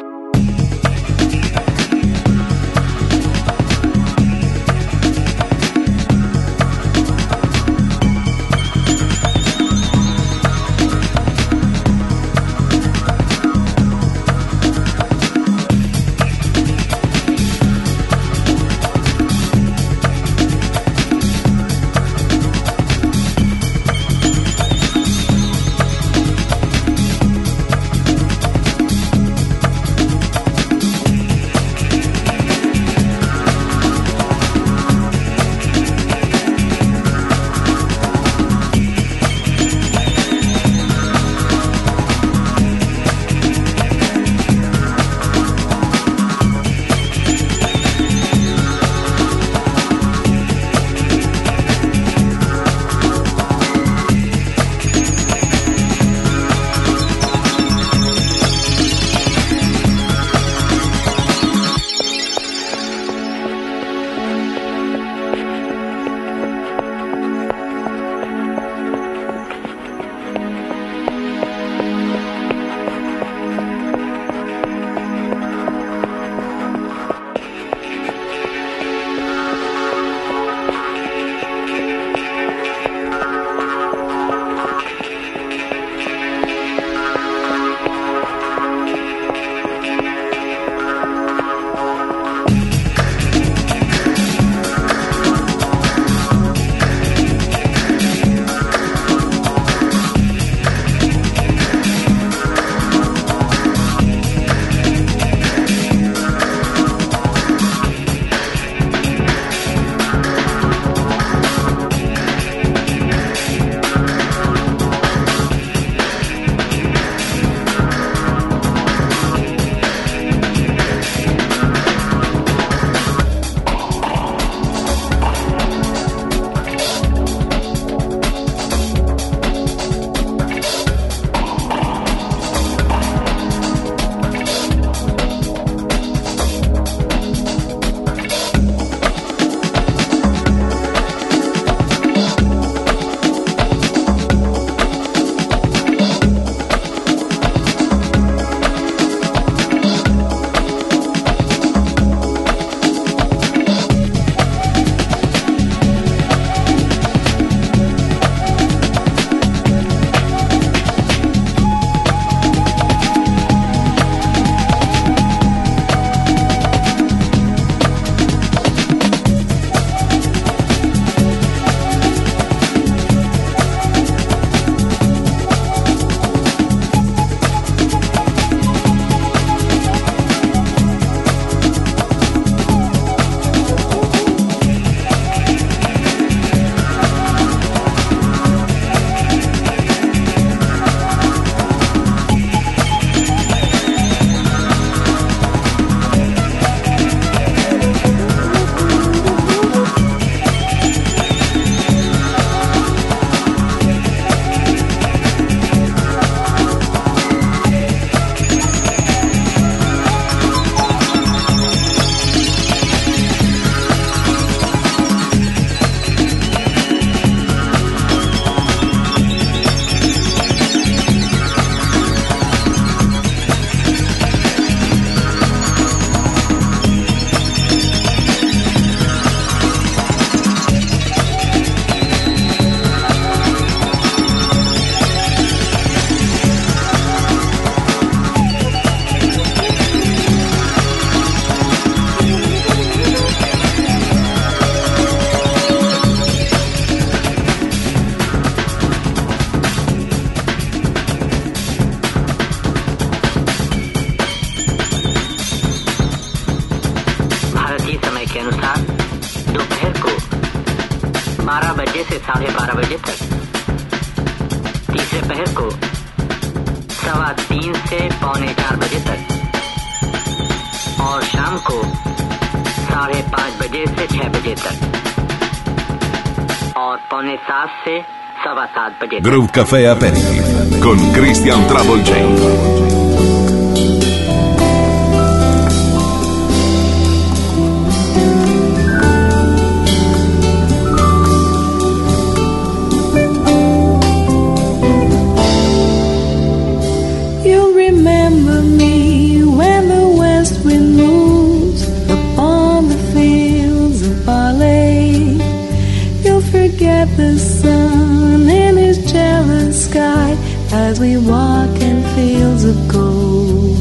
बारह बजे से साढ़े बारह बजे तक, तीसरे पहर को सवा तीन से पौने चार बजे तक और शाम को साढ़े पाँच बजे से छह बजे तक और पौने सात से सवा सात बजे तक। Groove Café Aperitif con Christian Trouble J. The sun in his jealous sky as we walk in fields of gold.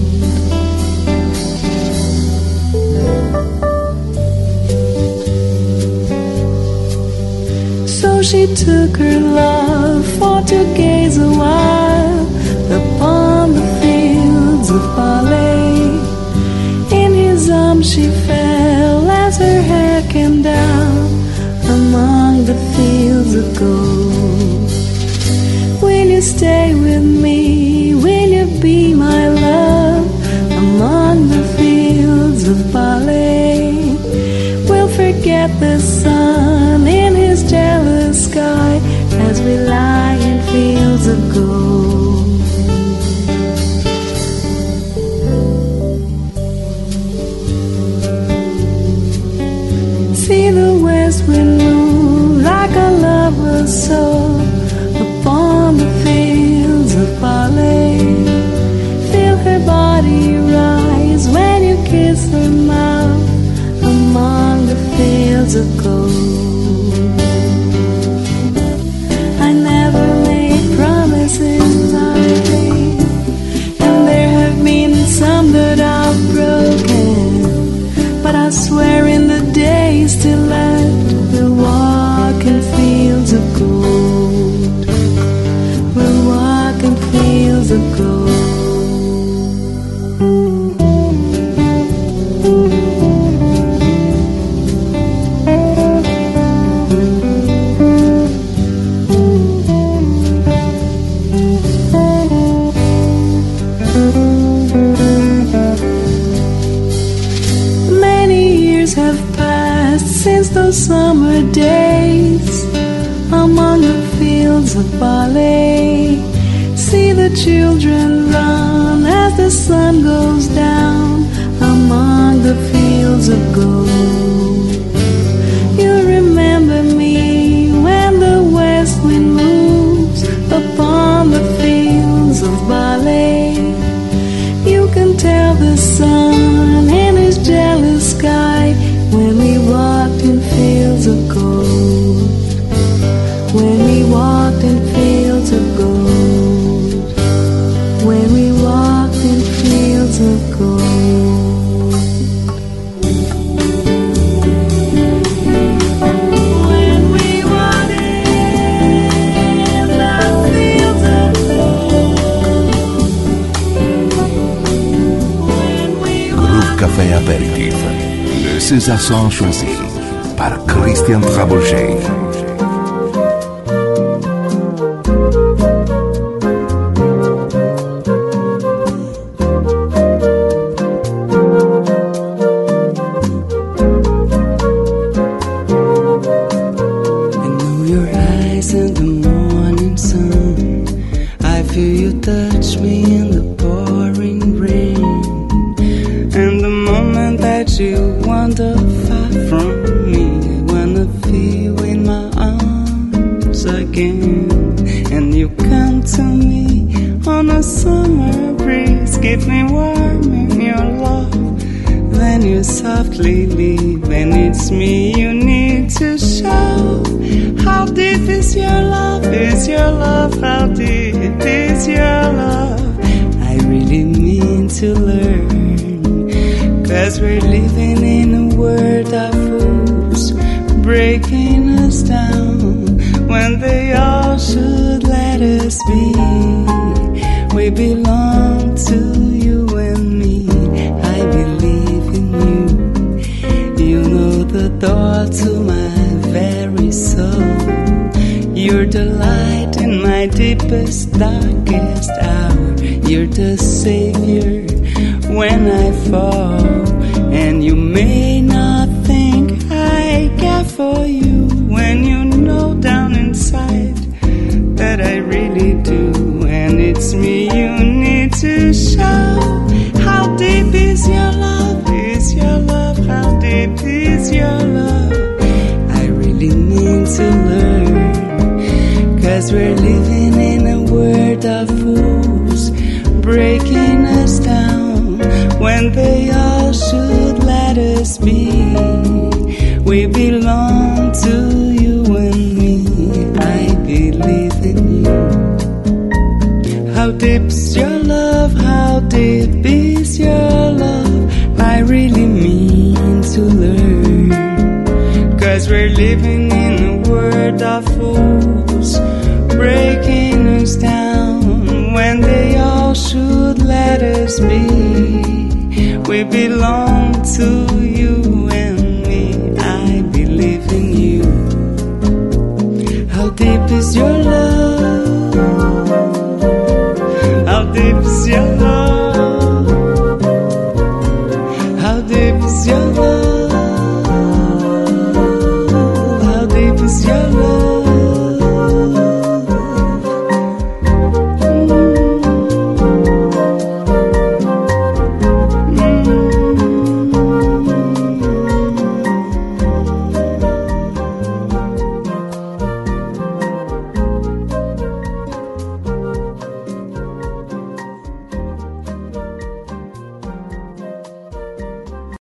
So she took her love for to gaze a while upon the fields of barley. In his arms she fell as her hair came down among the fields of gold. Will you stay with me? Will you be my love among the fields of barley? We'll forget the sun in his jealous sky as we lie in fields of gold. See the west wind move like a lover's soul upon the fields of barley. Feel her body rise when you kiss her mouth among the fields of gold. I never made promises I made, and there have been some that I've broken, but I swear in the days still left we'll walk in fields of gold. We'll walk in fields of gold. Since those summer days among the fields of barley, see the children run as the sun goes down among the fields of gold. You remember me when the west wind moves upon the fields of barley. You can tell the sun in his jealous sky when we walked in fields of gold, when we walked in fields of gold, when we walked in fields of gold. When we walked in the fields of gold. Groove Café Aperitif. Le César Son choisi par Christian Trouble J. Door to my very soul. You're the light in my deepest, darkest hour. You're the savior when I fall. And you may not think I care for you when you know down inside that I really do. And it's me you need to show. How deep is your love? Is your love? How deep is your love? I really need to learn. 'Cause we're living in a world of fools, breaking us down when they all should let us be. We belong to you and me. I believe in you. How deep's your love? How deep is your love? I really mean to learn. 'Cause we're living in a world of fools, breaking us down when they all should let us be. We belong to you and me. I believe in you. How deep is your love? How deep is your love? How deep is your love? How deep is your love?